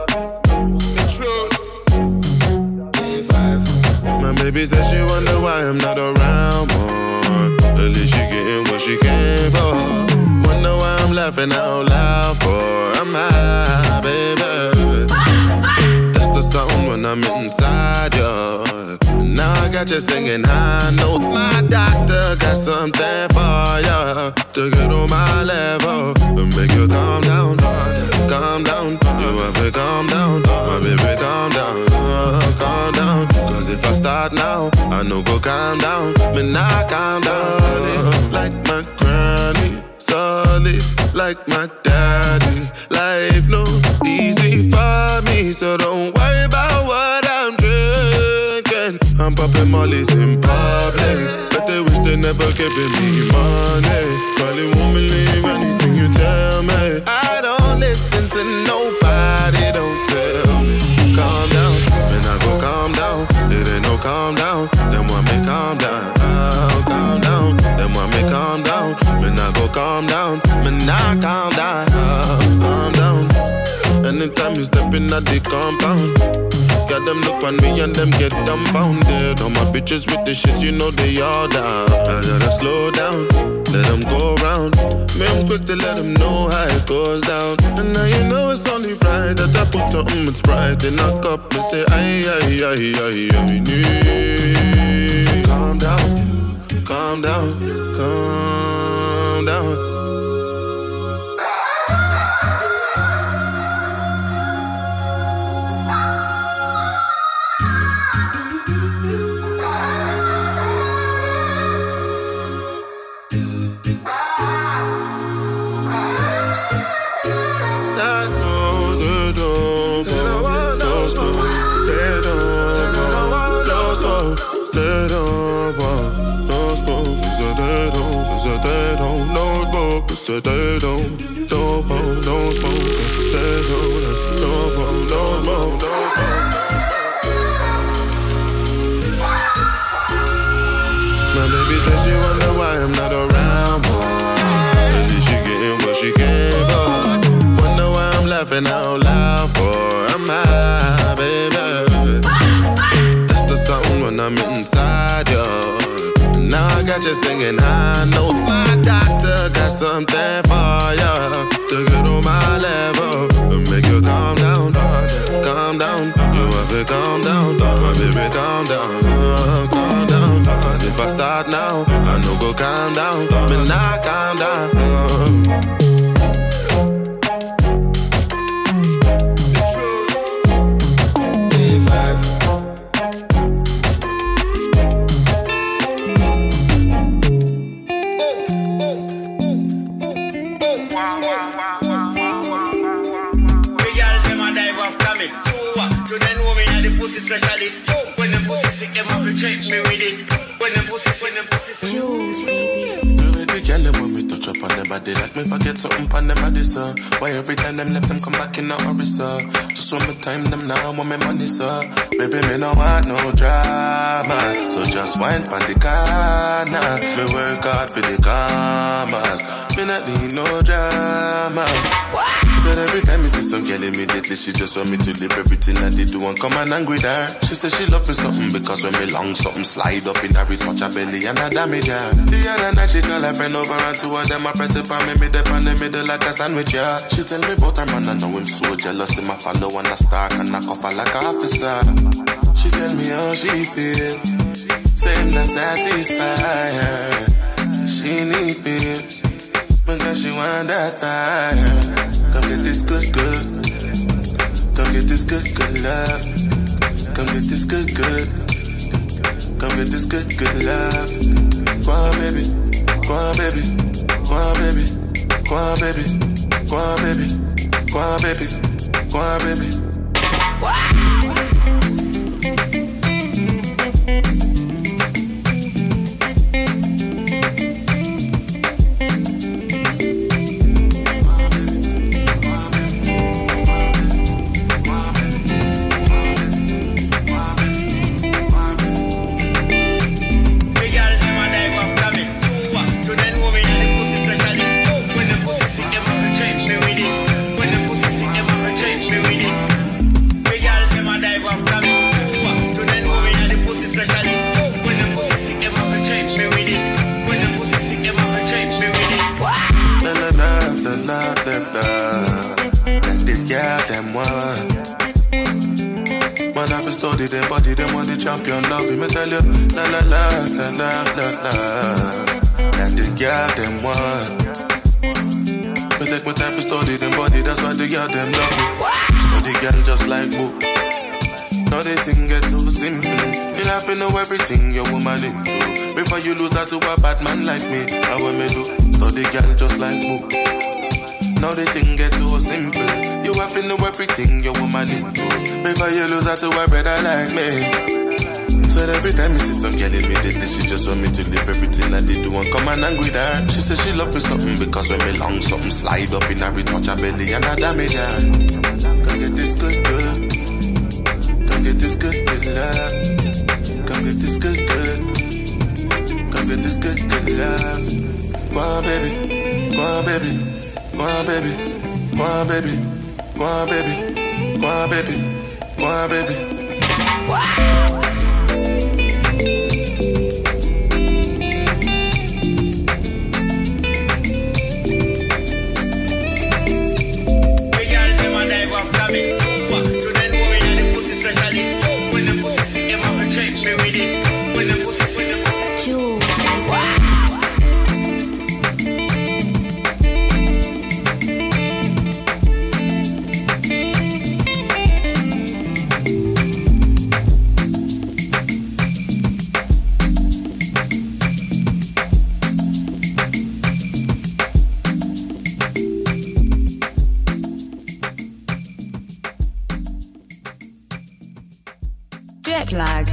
C: My baby says she wonder why I'm not around more. At least she getting what she came for. Wonder why I'm laughing out loud for. I'm high, baby. That's the sound when I'm inside you. Now I got you singing high notes. My doctor got something for you to get on my level and make you calm down, calm down. You have to calm down, my baby, calm down, calm down. Cause if I start now, I know go calm down, but not calm down. Like my granny, solid like my daddy. Life no easy for me, so don't worry about what I'm drinking. I'm popping mollies in public, but they wish they never giving me money. Probably won't believe anything you tell me. I don't listen to nobody, don't tell me. Calm down, when I go calm down. It ain't no calm down, then want me calm down. Calm down, then want me calm down. When I go calm down, when I calm down. Calm down, anytime you step in at the compound. Got them look on me and them get dumbfounded. All my bitches with the shit, you know they all down. I gotta slow down, let them go round. Me, I'm quick to let them know how it goes down. And now you know it's only right that I put something with Sprite in a cup and say, aye, aye, aye, aye, aye, aye. Calm down, calm down, calm down. So they don't smoke, don't smoke. They don't smoke. My baby says she wonder why I'm not around more. At least she getting what she came for. Wonder why I'm laughing out loud for. I'm high, baby. That's the sound when I'm inside you. Now I got you singing high notes. My doctor got something for you to get on my level and make you calm down, calm down. You have to calm down, my baby, calm down, calm down. Cause if I start now, I know go calm down, but not calm down.
L: Specialist. When them pussy sick, them have to check me with it. When them pussy sick,
J: Jules, baby.
C: The girl them when we touch up on them body, like me forget something on them body, sir. Why every time them left them come back in a hurry, sir? Just want me time them now, want me money, sir. Baby, me no want no drama, so just wine pon the corner. Me work hard for the commas, me not need no drama. Said every time you see some girl immediately she just want me to leave everything that they do and come and angry with her. She said she love me something because when me long something slide up in her, it touch her belly and I damage her. The other night she call her friend over and two of them I press it on me mid up in the middle like a sandwich, yeah. She tell me about her man, I know him so jealous, him I follow and I stalk and I cuff her like an officer. She tell me how she feel, say him not satisfy her. She need me because she want that fire. Come get this good, good. Come get this good, good love. Come get this good, good. Come get this good, good love. Go on, baby. Go on, baby. Go on, baby. Go on, baby. Go on, baby. Go on, baby. Go on, baby. them want the champion love. Me tell you, la la la la la la la. And the girl them want. Me take my time to study them body, that's why the girl them love me. Study girl just like book. Now the thing gets so simple. You have to know everything your woman into. Before you lose that to a bad man like me, how what me do? Study girl just like book. Now the thing gets so simple. You have to know everything your woman into. Before you lose that to a brother like me. So every time I see some girl immediately, she just want me to leave everything that they do and come and angry with her. She says she love me something because when me long something slide up in her, touch her belly and I damage her. Come get this good. Come get this good love. Come get this good. Come get this good love. Go on, baby. Go on, baby. Go on, baby. Go on, baby. Go on, baby. Go on, baby. Go on, baby. Wow.
A: Jet lag.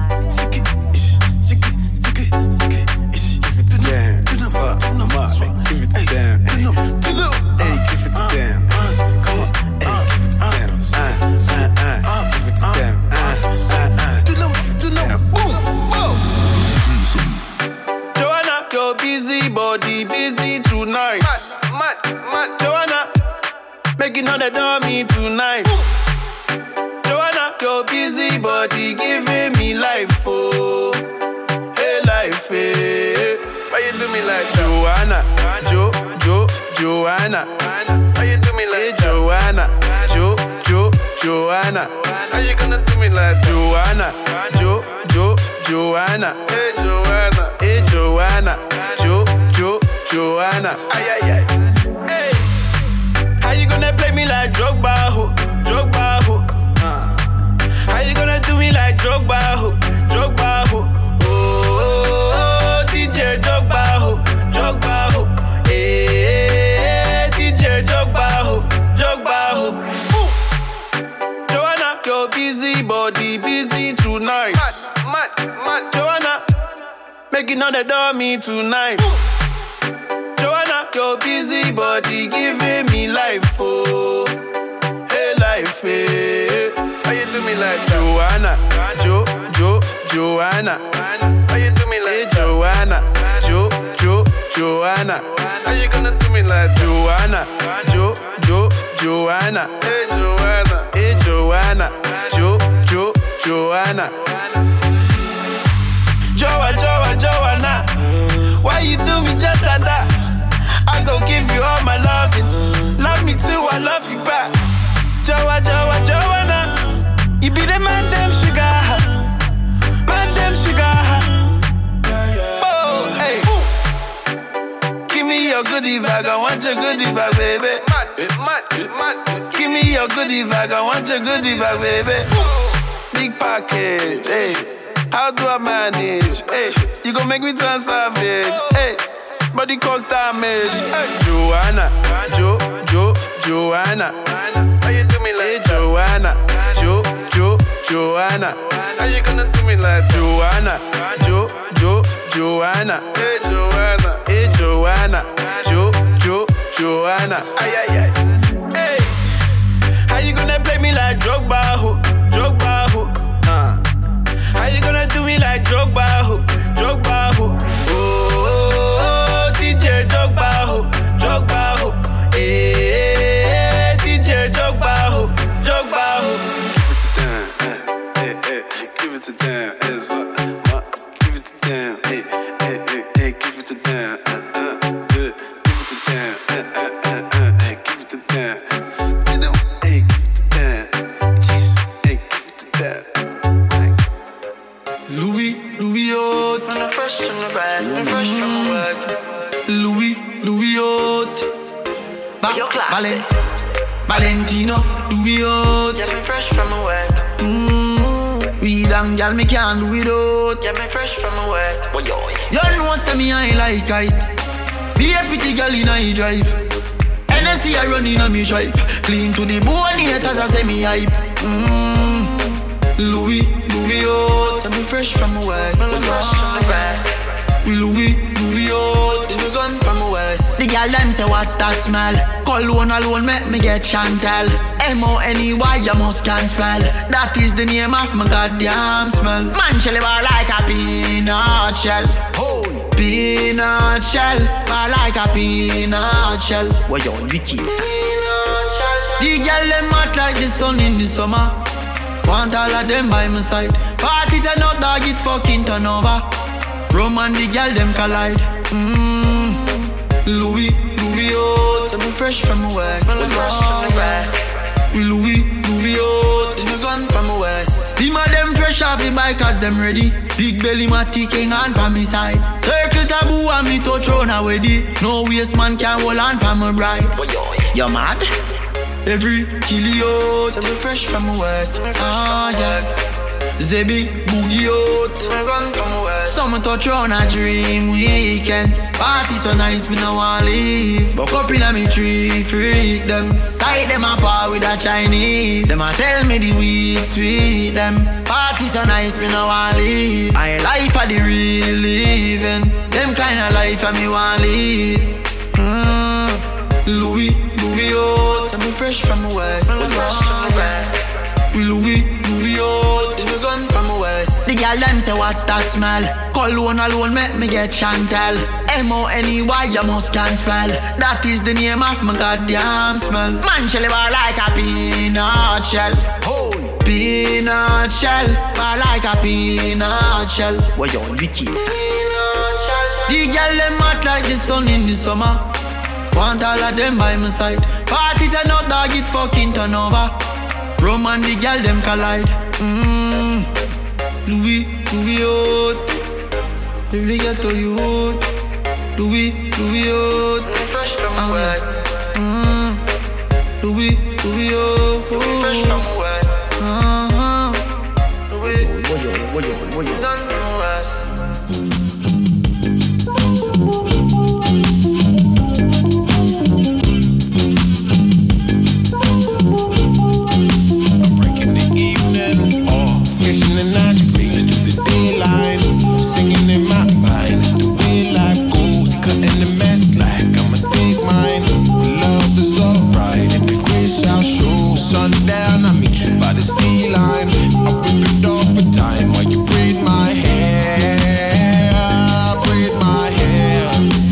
I: Joanna, your busy body, busy tonight. Mad. Joanna, making all the dummy tonight. Joanna, your busy body giving me life, oh. Hey, life, hey. Why you do me like Joanna? Joanna. Why you do me like Joanna? Joanna. How you gonna do me like Joanna? Joanna. Hey, Joanna. Joanna. Ay. Hey. How you gonna play me like Drogba, ho? How you gonna do me like Drogba, ho? Oh, DJ Drogba, ho. DJ Drogba, ho. Joanna, your busy body, busy tonight. Mad. Joanna, making all the dummy tonight. Joanna, your busy body giving me life, oh. Hey, life, hey. Why you do me like Joanna? Joanna. Why you do me like Joanna? Joanna. How you gonna do me like Joanna? Joanna. Hey, Joanna. Joanna. Joanna. Why you do me just like that? I gon' give you all my loving. Love me too, I love you back. Joanna. You be the man, them sugar. Oh, hey. Give me your goodie bag, I want your goodie bag, baby. Mad. Give me your goodie bag, I want your goodie bag, baby. Big package, hey. How do I manage? Hey, you gon' make me turn savage. Hey, body cause damage. Hey, Joanna. How you do me like Joanna? Joanna. How you gonna do me like Joanna? Joanna. Hey, Joanna. Joanna. Ay. Hey, how you gonna play me like Drogba, ho? How you gonna do me like Drogba, ho? Oh, DJ Drogba, ho. Hey, DJ Drogba, ho. Give it to them, it's up. Give it to them, hey, give it to them, give it to them, give it to Valentino, do we out?
H: Get me fresh from my work.
I: Weed and gal, me can't do without.
H: Get me fresh from my work. Boy, yo.
I: You know say me I like it. Be a pretty gal in a drive. NSC I run in a me stripe. Clean to the bone, haters I say me hype. Louis out.
H: Get me fresh from my work. Get me fresh from my work.
I: Louis out.
H: Give me gun from my waist.
I: The gal them say what's that smell? Cologne alone make me get Chantel. M-O-N-E-Y you must can spell. That is the name of my goddamn smell. Man shell bar like a peanut shell. Peanut shell, bar like a peanut shell.
H: What you wicked?
I: Peanut shell. The gal them hot like the sun in the summer. Want all of them by my side. Party turn up, dog it fucking turn over. Rum and the gal them collide. Louis out.
H: Get me fresh from my work. Get me fresh from my work.
I: Louis out.
H: Give me gun from my waist.
I: The man them fresh off the bikers them ready. Big belly matty king on pa me side. Circle taboo and me touch round already. No waste man can hold on pa my bride. You mad? Every kill out.
H: Get me fresh from my work.
I: Yeah. Zebi boogie out.
H: Give me gun from my waist.
I: Some touch round a dream weekend. Party so nice me no want leave. Buck up in a me tree freak them. Side them apart with a Chinese. Them a tell me the weed sweet them. Party so nice me no want leave. I life for the real living. Them kind of life I me want live. Louis out.
H: Get me fresh from my work. Get me fresh from my work.
I: Louis out.
H: Give me gun from my waist.
I: The gal them say what's that smell? Cologne alone make me get Chantel. M-O-N-E-Y you must can spell. That is the name of my goddamn smell. Man shell bar like a peanut shell. Peanut shell, bar like a peanut shell.
H: What you wicked?
I: Peanut shell. The gal them hot like the sun in the summer. Want all of them by my side. Party turn up, dog it fucking turn over. Rum and the gal them collide. Louis out. If we get to you out. Louis out.
H: Fresh from my work.
I: Louis out.
H: Fresh from my work.
I: What you?
H: Gun from my waist.
C: Catching a nice breeze through the daylight, singing in my mind. It's the way life goes, cutting the mess like I'ma take mine. Love is alright, and the grace I'll show. Sundown, I meet you by the sea line. I whip it off for time while you braid my hair, braid my hair.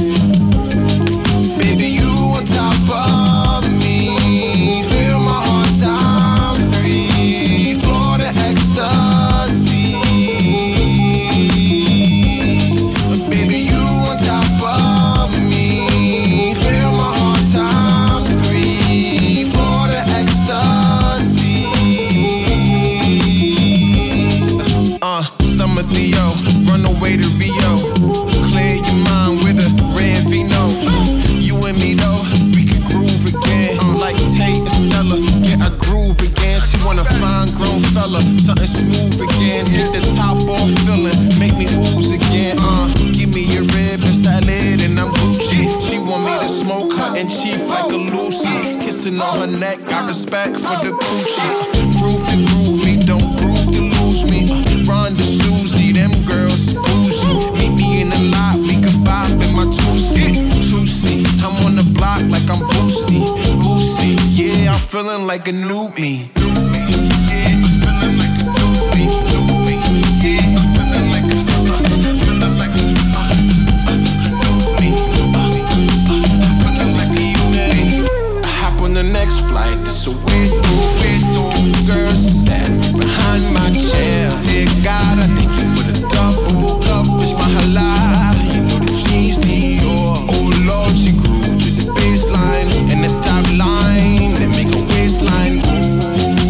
C: Baby, you on top of me, fill my heart time 3, Florida ecstasy. Baby, you on top of me, fill my heart time 3, Florida ecstasy. Summer Theo, run away to Rio, clear your mind with a red vino. You and me though, we could groove again, like Tate and Stella. Get a groove again. She want a fine grown fella, something smooth again. Take the top off, feeling, make me ooze again. Give me a rib and salad and I'm Gucci. She want me to smoke her and chief like a Lucy. Kissing on her neck, got respect for the coochie. Groove to groove me, don't groove to lose me. Run to Susie, them girls boozy. Meet me in the lot, we can bop in my 2C. I'm on the block like I'm Boosie. Yeah, I'm feeling like a new me. Yeah, I'm feeling like a new me. Yeah, I'm feeling like a new me. I'm feeling like a unit. I hop on the next flight, this a weird two girls sat behind my chair. Dear God, I thank you for the double. Bitch, my halal, you know the jeans Dior. Oh Lord, she grew to the baseline and the top line, then make a waistline. Ooh.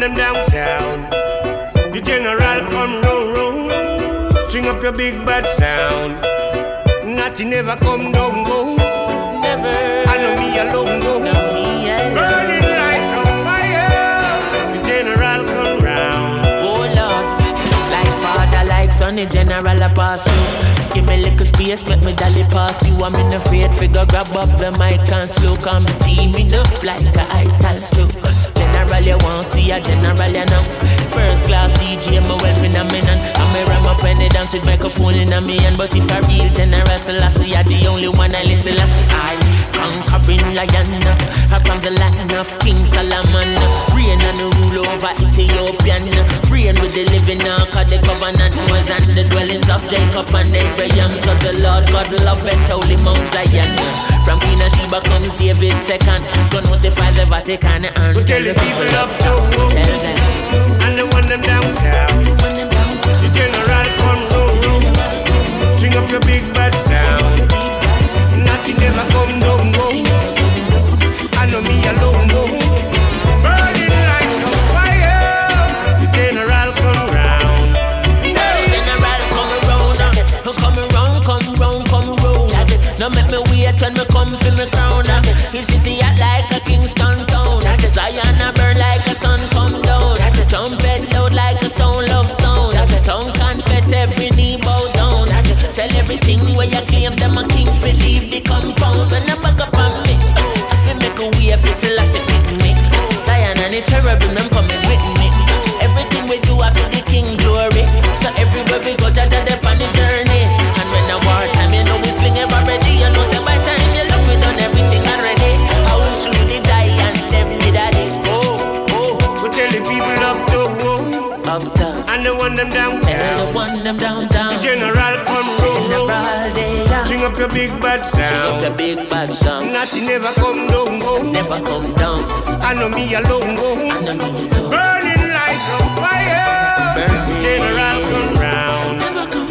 M: them downtown. The general come round. String up your big bad sound. Nothing never come down, go. Never. I know me alone, go. Burning like a fire. The general come round.
K: Oh Lord, like father, like son, the general I pass through. Give me little space, make me dolly pass you. I'm in afraid figure, grab up the mic and slow. Come steaming up like a ital slow. General, you won't see a general, you know. First class DJ, my well phenomenon. I'm a ram up when they dance with microphone in a me hand. But if a real general, Selassie, you're the only one I listen. I conquering lion, I'm from the land of King Solomon. Reign and rule over Ethiopian. Reign with the living now, cause the covenant was and the dwellings of Jacob and Abraham. So the Lord God love and holy Mount Zion. From Queen of Sheba comes David second. Don't notify the Vatican and
M: we tell the people up to and the one them downtown. The general come round. String up your big bad sound. Nothing never come down, go. I know me alone, go. Burning like a fire. The general come round.
K: General come around. Come around. Now make me wait when me come for me crown. His city act like a Kingston town. Zion a burn like a sun come down. Trumpet loud like a stone love sound. Tongue confess every knee bow down. Tell everything where you claim them a king for leave the compound. When I back up on me, if you make a way, if you still have to pick me. Zion and the cherubim, them coming with me. Everything we do, I feel the king glory. So everywhere we go, Jaja, they're on the journey. And when I war time, you know we sling it already. You know, say by time you look, we done everything already. I will slew the giant, them the daddy.
M: We tell the people up to and the one them downtown. The general come round. String up your big bad sound. Nothing never come down, go. I know me alone, go. Burning like a fire. The general come round.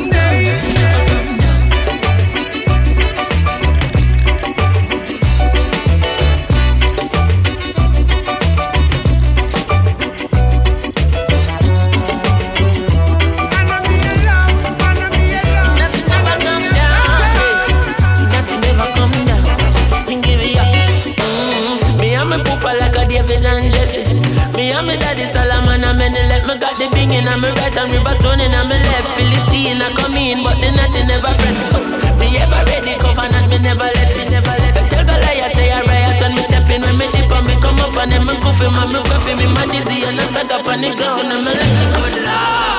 K: David and Jesse. Me and me daddy Solomon and many left. Me got the bing in and me right and river stone in and me left. Philistine I come in but the nothing never friend. Me ever ready covenant me never left. Tell Goliath say I riot when me step in. When me dip and me come up and then me go for me coffee. Me my dizzy and I stand up on the ground and me like good Lord.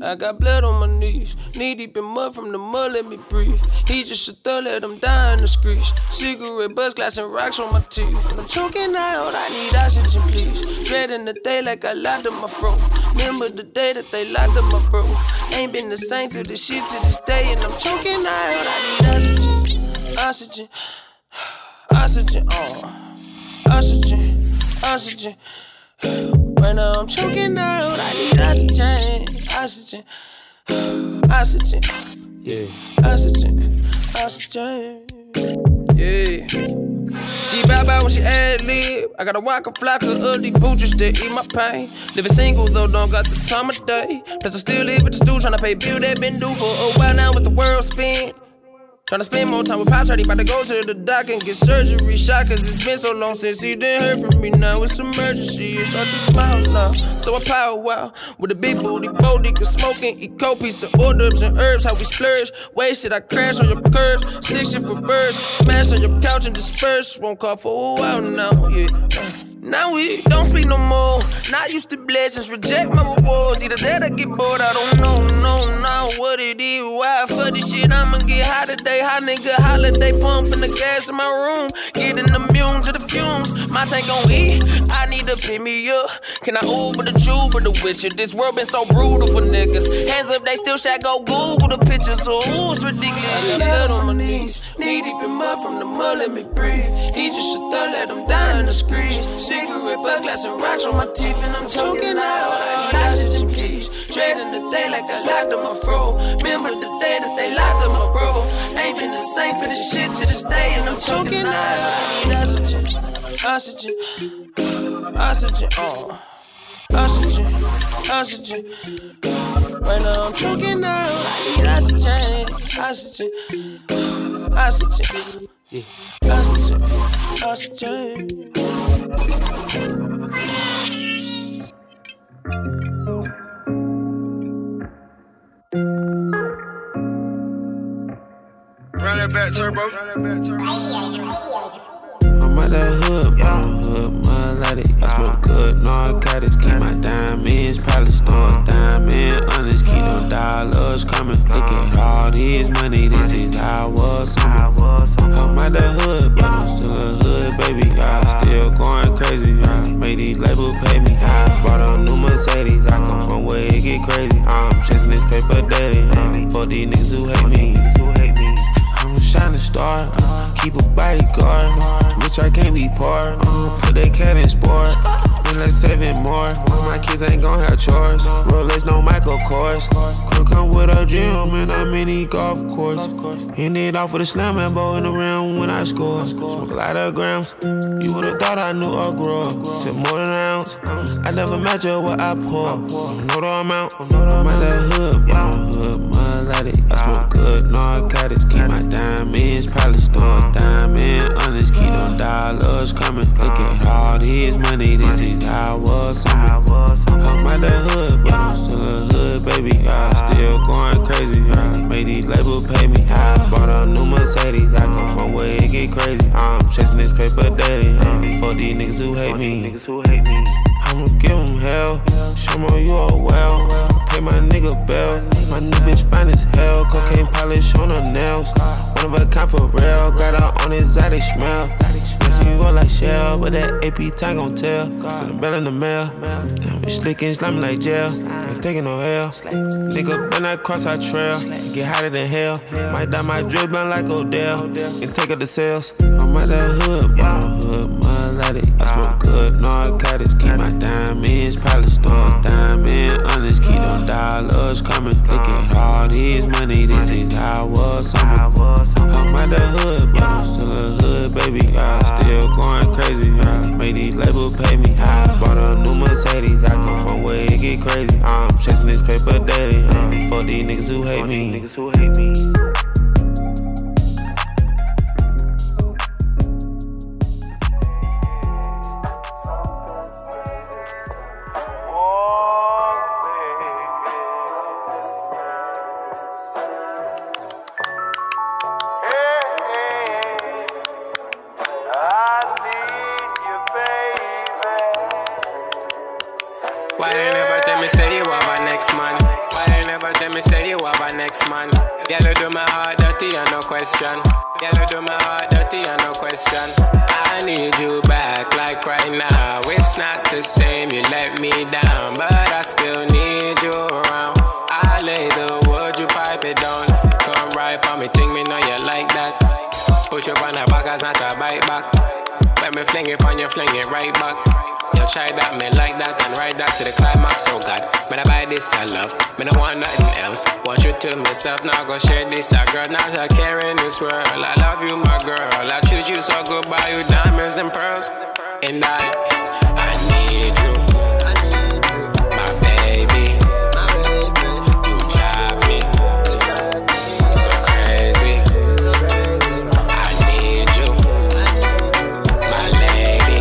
N: I got blood on my knees, knee deep in mud from the mud, let me breathe. He just a thug, let him die in the streets. Cigarette, buzz, glass, and rocks on my teeth. I'm choking out, I need oxygen, please. Dread in the day like I locked up my throat. Remember the day that they locked up my bro. Ain't been the same, feel this shit to this day. And I'm choking out, I need oxygen, oxygen, oxygen, oxygen, oxygen. Right now I'm choking out, I need oxygen, oxygen, oxygen, yeah, oxygen, oxygen, yeah. She bow when she ad-lib. I gotta walk a flock of ugly pooches that eat my pain. Living single though, don't got the time of day. Plus I still live with the stool, tryna pay bill that been due for a while now. It's the world spin. Tryna spend more time with Pops, already about to go to the doc and get surgery shot. Cause it's been so long since he didn't hear from me. Now it's emergency, it's hard to smile now. So I power out with a big booty, Bodega smoking, eat cold piece of hors d'oeuvres and herbs. How we splurge, wasted, I crash on your curves. Stick shit for birds, smash on your couch and disperse. Won't call for a while now, yeah. Now we don't speak no more. Not used to blessings, reject my rewards. Either that or get bored, I don't know what it is. Why for this shit, I'ma get high today. Hot nigga holiday, pumping the gas in my room. Getting immune to the fumes. My tank gon' eat, I need to pick me up. Can I Uber the Juba the Witcher? This world been so brutal for niggas. Hands up, they still shack, go Google the pictures. So ooh, it's ridiculous. I got blood on my knees, knee deep in mud from the mud, let me breathe. He just a thug, let him die in the streets. Cigarette, buzz, glass, and rocks on my teeth, and I'm choking out. I need oxygen, please. Dread in the day like I locked up my fro. Remember the day that they locked up my bro. Ain't been the same for this shit to this day, and I'm choking out. I need oxygen, oxygen, oxygen, oxygen, oxygen. Right now I'm choking out. I need oxygen, oxygen, oxygen. Yeah, oxygen, oxygen.
O: Run that back, turbo.
P: I'm at that hood, but I'm hood, melodic. I smoke good narcotics, keep my diamonds polished. Throwing diamond honest, keep them dollars coming. Look at all this money, this is how I was summer. I'm at that hood, but I'm still a hood, baby. I still going crazy, I made these labels pay me. I bought a new Mercedes, I come from where it get crazy. I'm chasing this paper daily, for these niggas who hate me. I'm a shining star, keep a bodyguard. Rich, I can't be poor. Put that cat in sport. And let's save it more. My kids ain't gon' have chores. Rolex, no Michael Kors. Could come with a gym and a mini golf course. End it off with a slam and bow in the round when I score. Smoke a lot of grams. You would've thought I knew a grower. Said more than an ounce. I never measure what I pour. Know the amount. I'm at that hood, but I'm hood melodic. I smoke good narcotics, keep my diamonds polished. Throwing diamond honest, keep them dollars coming. Look at all this money, this is how I was summer. I'm at that hood, but I'm still a hood, baby. I still going crazy, I made these labels pay me. I bought a new Mercedes, I come from where it get crazy. I'm chasing this paper daily, for these niggas who hate me. I'ma give them hell, show me you are well. Pay my nigga bell, my new bitch fine as hell. Cocaine polish on her nails, one of a kind for real. Got her on exotic smell. Guessing you all like Shell, but that AP time gon' tell. Send a bell in the mail. Now we slickin', slimy like jail. Ain't taking no hell. Nigga, when I cross our trail, get hotter than hell. Might dye my drip blunt like Odell, and take up the sales. I'm at that hood, but I'm hood melodic. I smoke good narcotics, keep my diamonds polished. Throwing diamond honest, keep them dollars coming. Look at all this money, this is how I was summer. I'm at that hood, but I'm still a hood, baby. I still going crazy, I made these labels pay me. I bought a new Mercedes, I come from where it get crazy. I'm chasing this paper daily, for these niggas who hate me.
Q: Why you never tell me say you have a next man? Why you never
O: Yellow do my heart dirty and no question. Yellow do my heart dirty and no question. I need you back like right now. It's not the same, you let me down, but I still need you around. I lay the wood, you pipe it down. Come right on me, think me know you like that. Put you on the back, it's not a bite back. When me fling it on you, fling it right back. You try that, me like that, and ride that to the climax, oh God. Man, I buy this, I love, me don't want nothing else. Want you to myself, now go share this, I girl, not a care in this world. I love you, my girl, I choose you so good, buy you diamonds and pearls. And I need you, my baby. You drive me so crazy. I need you, my lady.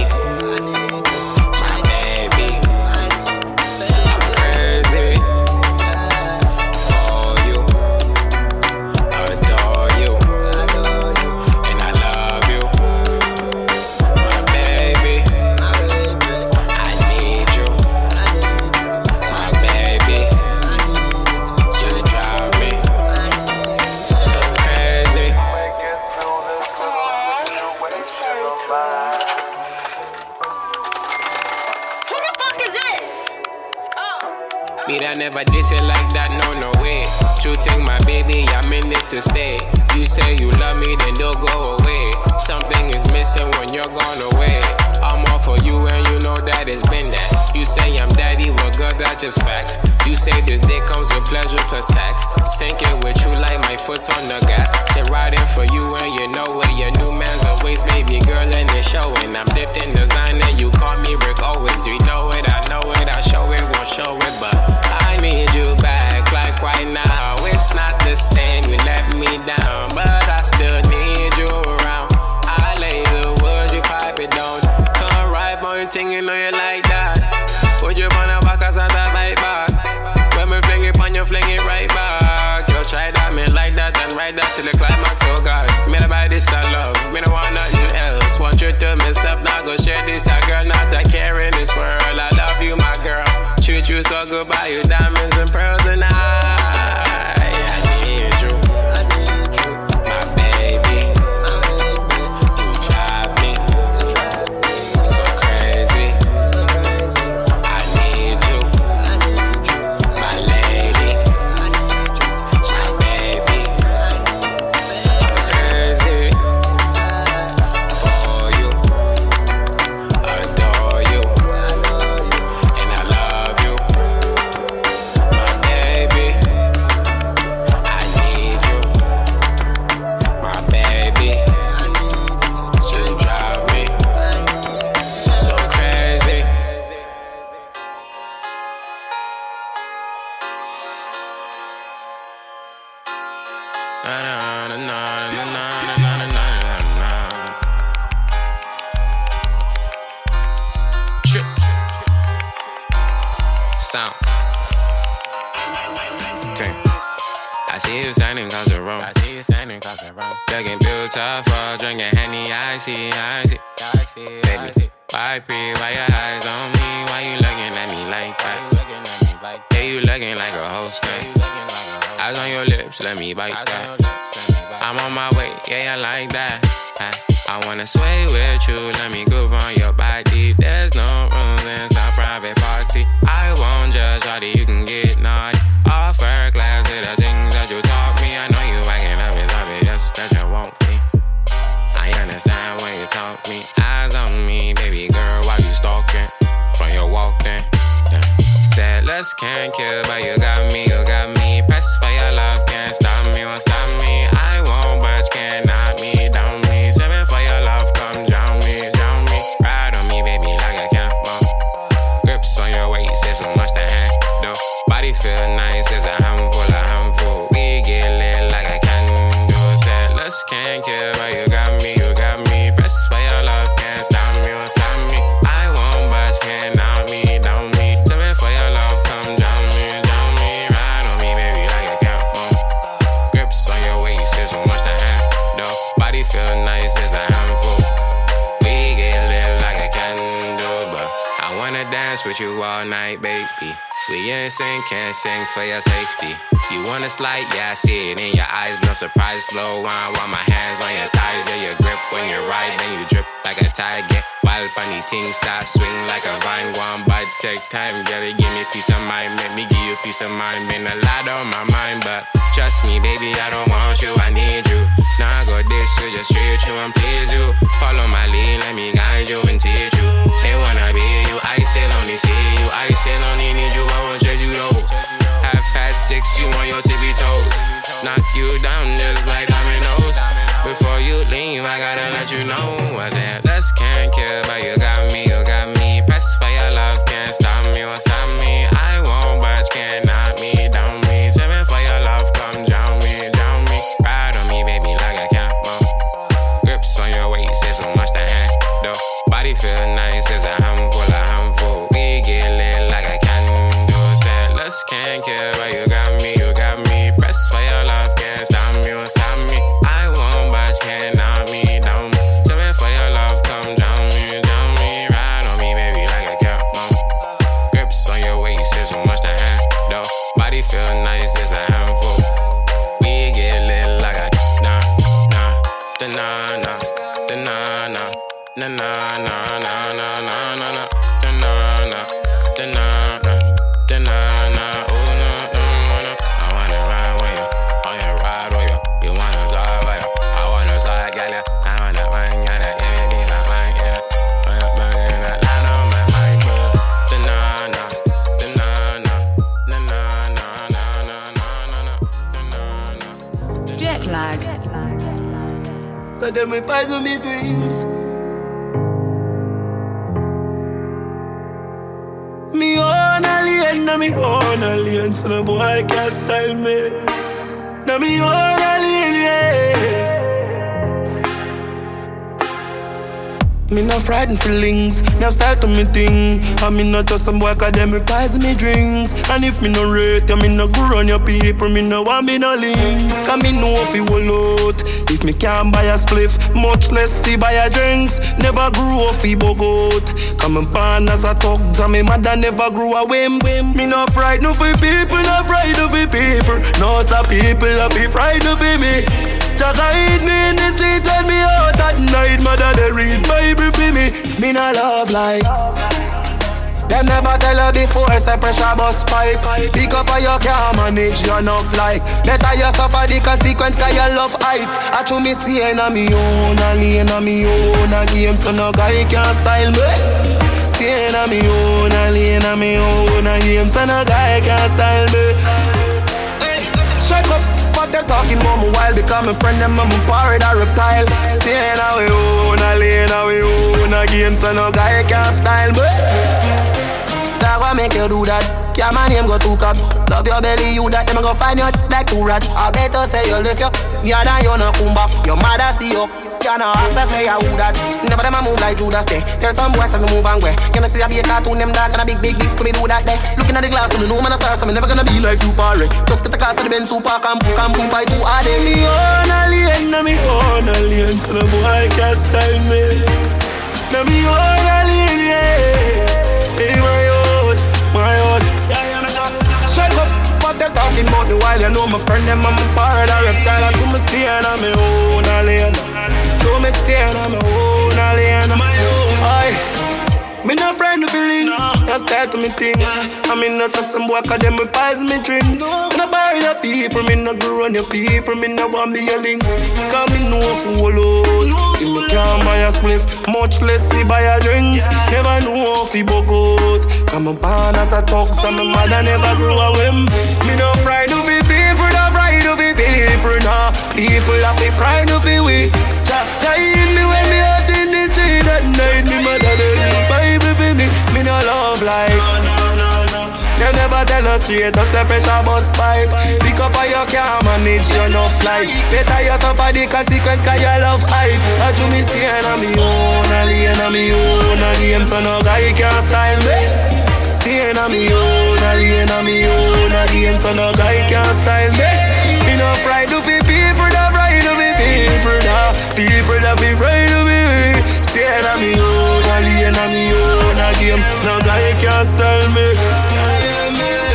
O: Me that never diss it like that, no way. True thing, my baby, I'm in this to stay. You say you love me, then don't go away. Something is missing when you're gone away. I'm all for you and you know that it's been that. You say I'm daddy, well girl, that's just facts. You say this day comes with pleasure plus tax. Sink it with you like my foot's on the gas. Sit riding for you and you know where your new man's always, baby girl, and it's showing. I'm dipped in designer, you call me Rick always. You know it, I show it, won't show it, but I need you back like right now. It's not the same, you let me down, but I still need you around. I lay the wood, you pipe it down. Come right on your thing, you know you like that. Put you on the back, I start to bite back. When me fling it on you, fling it right back. You try that, me like that, and ride that till the climax, oh God. Me to buy this, I love, me don't want nothing else. Want you to myself, now go share this, a girl, not a care in this world. I love you, my girl. Treat you so good, buy you diamonds and pearls, and I need you, my baby. You drive me so crazy. I need you, my lady, my baby. I'm crazy for you, adore you, and I love you. Sound. I see you standing across the room. Looking beautiful, drinking Henny, I see. Baby, why why your eyes on me? Why you looking at me like that? Hey, you looking like a host now. Eyes on your lips, let me bite that. I'm on my way, yeah, I like that. I wanna sway with you, let me groove on your body. There's no room in our private party. I won't judge, shawty, you can get naughty. Offer class to the things that you taught me. I know you acting up, it's obvious that you want me. I understand when you talk me. Eyes on me, baby girl, while you stalking. From your walk then, said let's can't kill, but you got me. Press for your love, can't stop me, won't stop me. I won't, but you can't knock me down me. Swimming for your love, come drown me. Ride on me, baby, like a camel. Grips on your waist, it's so much to handle. Body feel nice, it's a handful. We get lit like a candle. Said let's can't kill, but you got me. Press for your love, can't stop me, won't stop me. I won't, but you can't knock me down me. Swimming for your love, come drown me. Ride on me, baby, like a camel. Grips on your waist, it's so much to handle. Body feel nice, it's a handful. We get lit like a candle, but I wanna dance with you all night, baby. We ain't sing, can't sing for your safety. You wanna slide? Yeah, I see it in your eyes. No surprise, slow wine while my hands on your thighs. Yeah, your grip when you ride, then you drip like a tide. Get wild, funny things start swing like a vine. One bite, take time, girl, give me peace of mind. Make me give you peace of mind. Been a lot on my mind, but trust me, baby, I don't want you, I need you. Now I go this, you just treat you and please you. Follow my lead, let me guide you and teach you. They wanna be you, I still only see you. I still only need you, I won't judge you though. 6:30, you on your tippy toes. Knock you down just like dominoes. Before you leave, I gotta let you know. I said, let's can't kill, but you got me, you got me. Press for your love, can't stop me, won't stop me. I won't budge, can't knock me down me. 7 for your love, come drown me, drown me. Ride on me, baby, like a camel. Grips on your waist, it's so much to handle. Body feel nice, it's a handful, a handful. We get lit like a candle. Said, let's can't kill, but you got me, you got me. Press for your love, can't stop me, won't stop me. I won't budge, can't knock me down. 7 for your love, come drown me, drown me. Ride on me, baby, like a camel. Grips on your waist, it's so much to handle. Body feel nice, it's a handful. We get lit like a na na da na na da na na na na na na na na na na da na na da na na da na na. Oh no no no. I wanna ride with you, I wanna ride with you. You wanna slide with you, I wanna slide, girl. I wanna mind, girl. Give me be like mine, girl. I'm burning that line on my mind, girl. Da na na da na na na na na na na na na na.
A: Jet lag.
I: Cause them me poison me dreams. Me own alien, na me own alien. So no boy can't style me. Na me own alien, yeah. Me no frightened feelings, me a style to me thing. And me not just some boy cause them me poison me drinks. And if me no rate you, me no go run your people. Me no want me no links. Cause me know if you will out. If me can't buy a spliff, much less see buy a drinks. Never grew up fi bogot. Cause me born as a thugs and me mother never grew a whim. Me no frightened for people, no frightened for people. No some people a be frightened for me. Just guide me in the street, tell me out at night. Mother they read Bible for me. Me no love likes. Them never tell her before, say pressure bust pipe. Pick up or you can't manage you enough like. Better you suffer the consequence cause you love hype. I true me staying on me own, a lane on me own. A game so no guy can style me. Staying on me own, a lane on me own. A game so no guy can style me. Shut up. What they're talking about me while become a friend them I'm a pirate or reptile. Staying away own, a lane away own. A game so no guy can style me. That what make you do that? Yeah, my name go 2 cups. Love your belly, you that. Them go find you like 2 rats. I better say you lift you. Yeah, that you no kumba. Your mother see you. You no access say you who that. Never them a move like Judas day. Tell some boys to move and way. You know see I be a cartoon them dark and a big Scooby do that day. Looking at the glass, so me know man a star, so me never gonna be like you party. Just get the car so the Benz super come food by 2 all day. Me own alien, na me own alien, so the boy can't style me. Na me own alien, yeah. Hey, my own. Shut up, what they're talking about me while you know my friend them I'm a pirate or reptile. I do me staying on my own alien. Do me staying on my own alien. Me no friend of feelings, just style to me thing. I mean not just some boy cause them me pies me drink. Me no bury the people, me no go run your people. Me no want be your links, cause me know fool out. If me can't buy a spliff, much less see buy a drinks. Never know if he bug out. Cause me born as a thug, so my mother never grew a whim. Me no friend of the people, no friend of the people. Nah, people have be friend of the we. Hide me when me out in the street at night. Me mother they read Bible for me. Me no love like. They never tell us straight up, say pressure bust pipe. Pick up or you can't manage you no fly. Better you suffer the consequence cause you love hype. I do me staying on me own, a lane on me own. A game so no guy can style me. Staying on me own, a lane on me own. A game so no guy can style me. Me no fright to be people, no fright to be people. Nah, people that be fright to be. Staying on me own, a lane on me own. A game no guy can style me.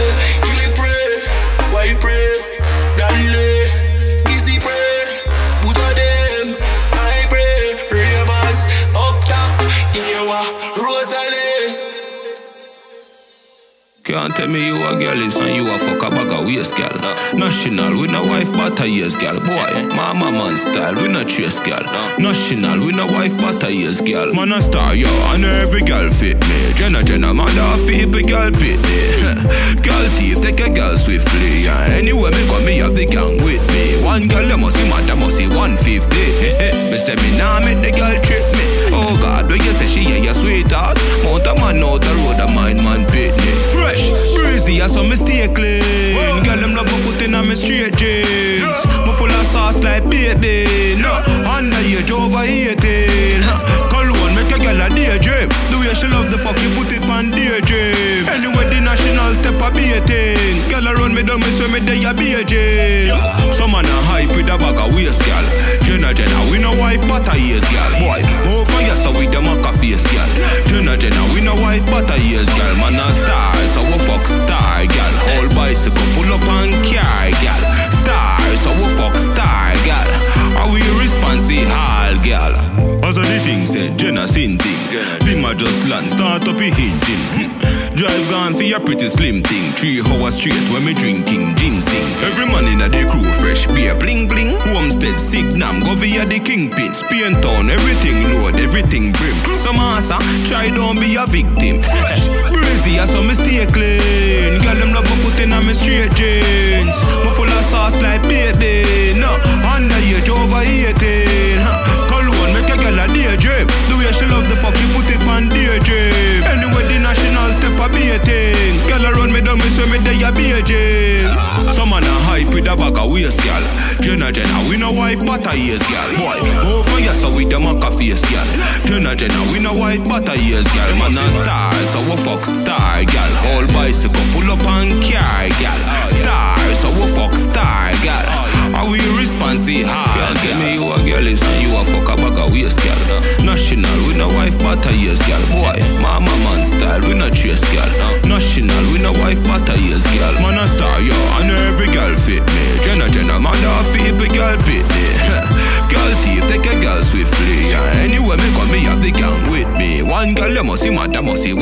Q: Can't tell me you a girl is and you a fuck a bag of waist, girl. National, we no wife but a years, girl. Boy, mama man style, we no chase, girl. National, we no wife but a years, girl. Man a star, yo, and every girl fit me. Jenna, mother of people, girl pit me. Girl thief, take a girl swiftly. Yeah. Anyway, me got me have the gang with me. One girl, they must see mad, they must see 150. Me say me nah make the girl trip me. Oh God, when you say she ain't your sweetheart, mount a man out the road, a mind man pit me. Fresh, breezy, I saw me stay clean. Girl, them love my foot in my straight jeans. Me full of sauce like baby. No, underage over 18. Cologne make a girl a daydream. The way she love the fuck, she put it on daydream. Anyway, the national step a beating. Girl around me down, me say me day a beijing. Some man a hype with a bag of waist, girl. Jenna, we no wife but a years, girl. Boy, move for you so with them a face, girl. Jenna, we no wife but a years, girl. Man a star, so we fuck star, girl. Whole bicycle pull up and car, girl. Star, so we fuck star, girl. Are we responsive, all, girl? As the thing said, Jenna sin thing. Bima just land, start up a engine. Drive gone for your pretty slim thing. 3 hours straight when me drinking ginseng. Every man in a day crew fresh beer bling bling. Homestead Signam go via the kingpin. Spain town everything load, everything brim. Some asa try don't be a victim. Fresh breezy as some stay clean. Girl them love my foot in my straight jeans. Me full of sauce like baby. No underage over 18. Cologne make a girl a daydream. The way she love the fuck she put it on daydream. Anyway the national step a beating. Girl around me down me so me day a beijing. Some man a hype with a bag of waist, girl. Jenna, we no wife but a years, girl. Boy, move for you so with them a face, girl. Jenna, we no wife but a years, girl. Man a star, so we fuck star, girl. Whole bicycle pull up and car, girl. Star, so we fuck star, girl. Are we responsive, girl? Tell me you a girl is and you a fuck a bag of waist, girl. National, we no wife but a years, girl. Boy, mama man style, we no chase, girl. National, we no wife but a years, girl. Man a star, yo, and every girl fit me. Jenna, mother of people, girl pit me. Girl thief, take a girl swiftly. Yeah. Anyway, me come me have the gang with me. One girl, you must see mad, you must see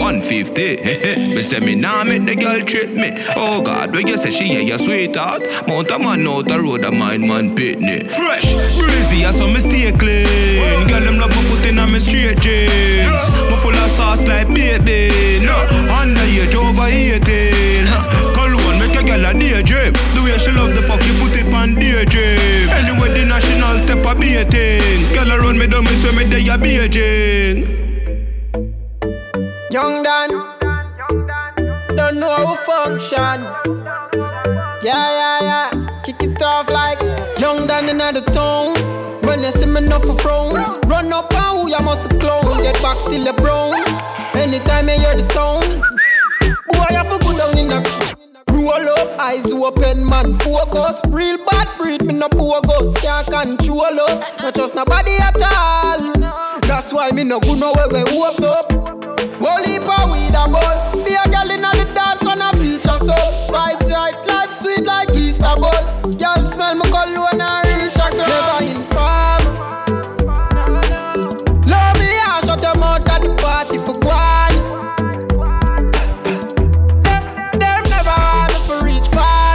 Q: 150. Me say me nah make the girl trip me. Oh God, when you say she ain't your sweetheart, mount a man out the road, a mind man pit me. Fresh, breezy, I saw me stay clean. Girl, them love my foot in my straight jeans. Me full of sauce like baby. No, underage over 18. Cologne make a girl a daydream. The way she love the fuck, she put it on daydream. Anyway, the national step a beating. Girl around me down, me so me day a beijing.
R: Young Dan, don't know how to function. Yeah. Kick it off like Young Dan in the town. When you see me enough for frown, run up and who you must clown. Get back still a brown. Anytime you hear the sound, boy you have to go down in the roll up, eyes open, man, focus. Real bad breed, me no bogus. Can't control us, not just nobody at all. That's why me no go nowhere we woke up. Whole heap of weed a buzz. See a girl inna the dance when I feature so. Right, life sweet like Easter bud. Girl smell me cologne and reach a girl. Never inform. Love me and shut your mouth at the party for one. Them never want me for reach far.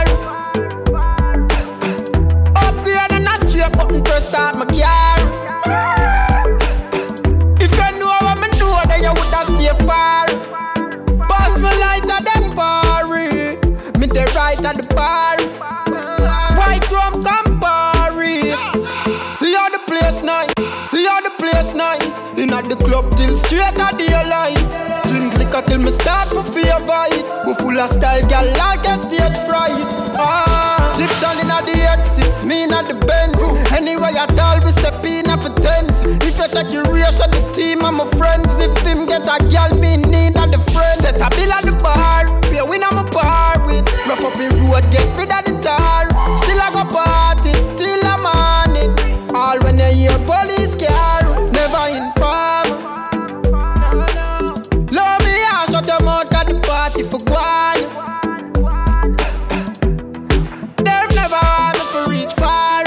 R: Upgrade and a straight button press start my car. If you know what me do, then you woulda stay far. Pass me lighter than Barry. Me the right at the bar. White rum Campari. See how the place nice. See how the place nice. In at the club till straight at the line. Drink liquor till me start for fear vibe. We full of style, girl like a stage fright. Egyptian in at the X6, me in at the Benz. Anyway at all we step in at for tents. If you check your ratio, the team and my friends. If him get a girl, me need at the friend. Set a bill at the bar, pay win I'm a par with. Rough up in road, get rid of the tar. Still I go party till the morning. All when you hear police car, never inform. Love me and shut your mouth at the party for one. Them never want me for reach far.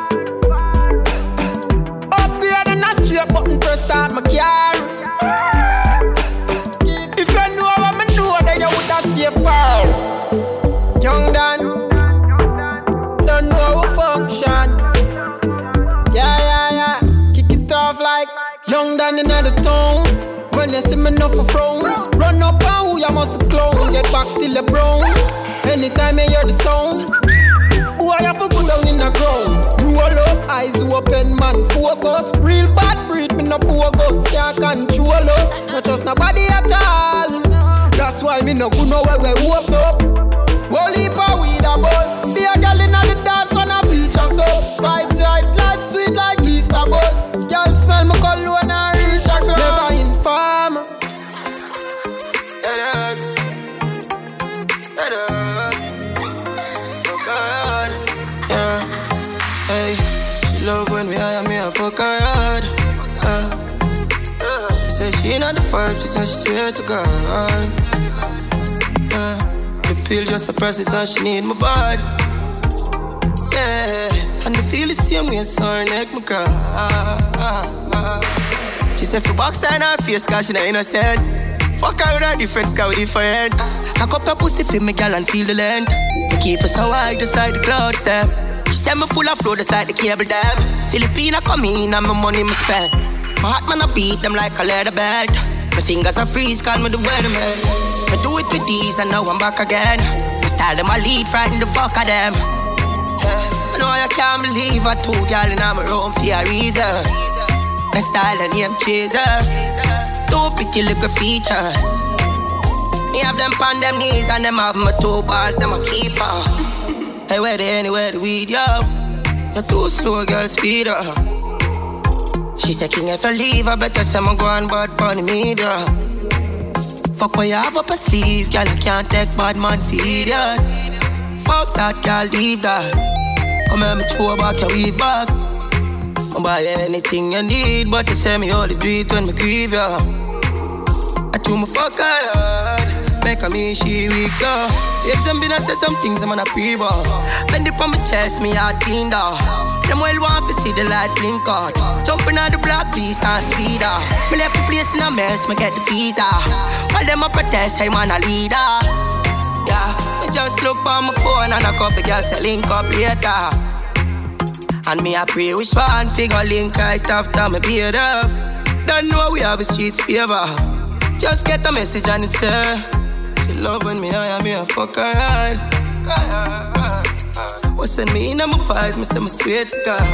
R: Upgrade and a straight button press start my car. If you know what me do, then you woulda stay far. down in the town. When you see me no for frowns, run up and who you must clown. Get back still a brown. Anytime you hear the sound, boy you have to go down in the ground. Roll up, eyes open, man, focus. Real bad breed, me no bogus. Can't control us, not just nobody at all. That's why me no go nowhere we open up. Whole heap of weed a buzz. See a girl inna the dance when I feature so. Vibes right, life sweet like Easter bud. Girl smell me cologne and reach a girl. Never inform.
I: Oh God, yeah. Hey, she love when we hire me a fuck her hard. She said she not the vibe, she said she swear to God. The pill just a process and she need my body. Yeah, and the feel the same way so her neck my cry. She said for box her in her face cause she not innocent. Fuck her with her difference cause we different. I cup her pussy for me girl and feel the length. I keep her so high just like the clouds them. She said me full of flow just like the cable dam. Filipina come in and my money me spend. My heart man I beat them like a leather belt. My fingers are freeze call me the weatherman. I do it with these and now I'm back again. My style them I lead, frighten the fuck of them. I know I can't believe I two girl in my room for a reason. My style and name chaser. Two pretty little features. Me have them on them knees and them have my two balls, them a keeper. Hey, where they anywhere the weed, yo? You're too slow, girl, speed up. She said, King, if I leave, I better say I'm going bad bunny media. Fuck what you have up a sleeve, girl, I can't take bad man feed ya. Fuck that, girl, leave that. Come here, me throw back your weave back. I'll buy anything you need, but you say me only do it when me grieve ya. I chew my fuck hard, make me she weak though. If some been I say some things I'm on a pre-ball. Bend it on my chest, me heart clean though. Them well want to see the light blink out. Jumping on the block, beast and speed up. Me left the place in a mess, me get the visa. While them a protest, hey man a leader. Yeah, me just look on my phone and a couple girls say link up later. And me a pray which one figure link right after me beard off. Don't know we have a streets favor. Just get a message and it's her. She love when me hire me a fuck her hard. What's in me in my fights, me say me sweet to God.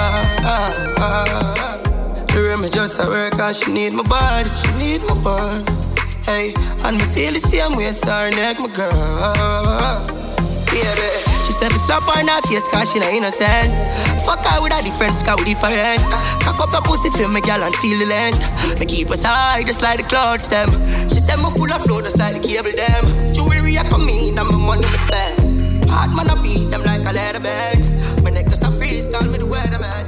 I: She read me just a work and she need my body, she need my body. Hey, and me feel the same way, so her neck my girl. Baby, she said me slap her in her face cause she not innocent. Fuck her with a difference cause we different. Cock up the pussy for me girl and feel the length. Me keep us high just like the clouds them. She said me full of flow just like the cable them. Jewelry I come in and my money me spend. Hard man I beat them like a leather belt. My neck just a freeze, call me the weatherman.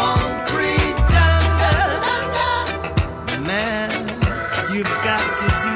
S: You've got to do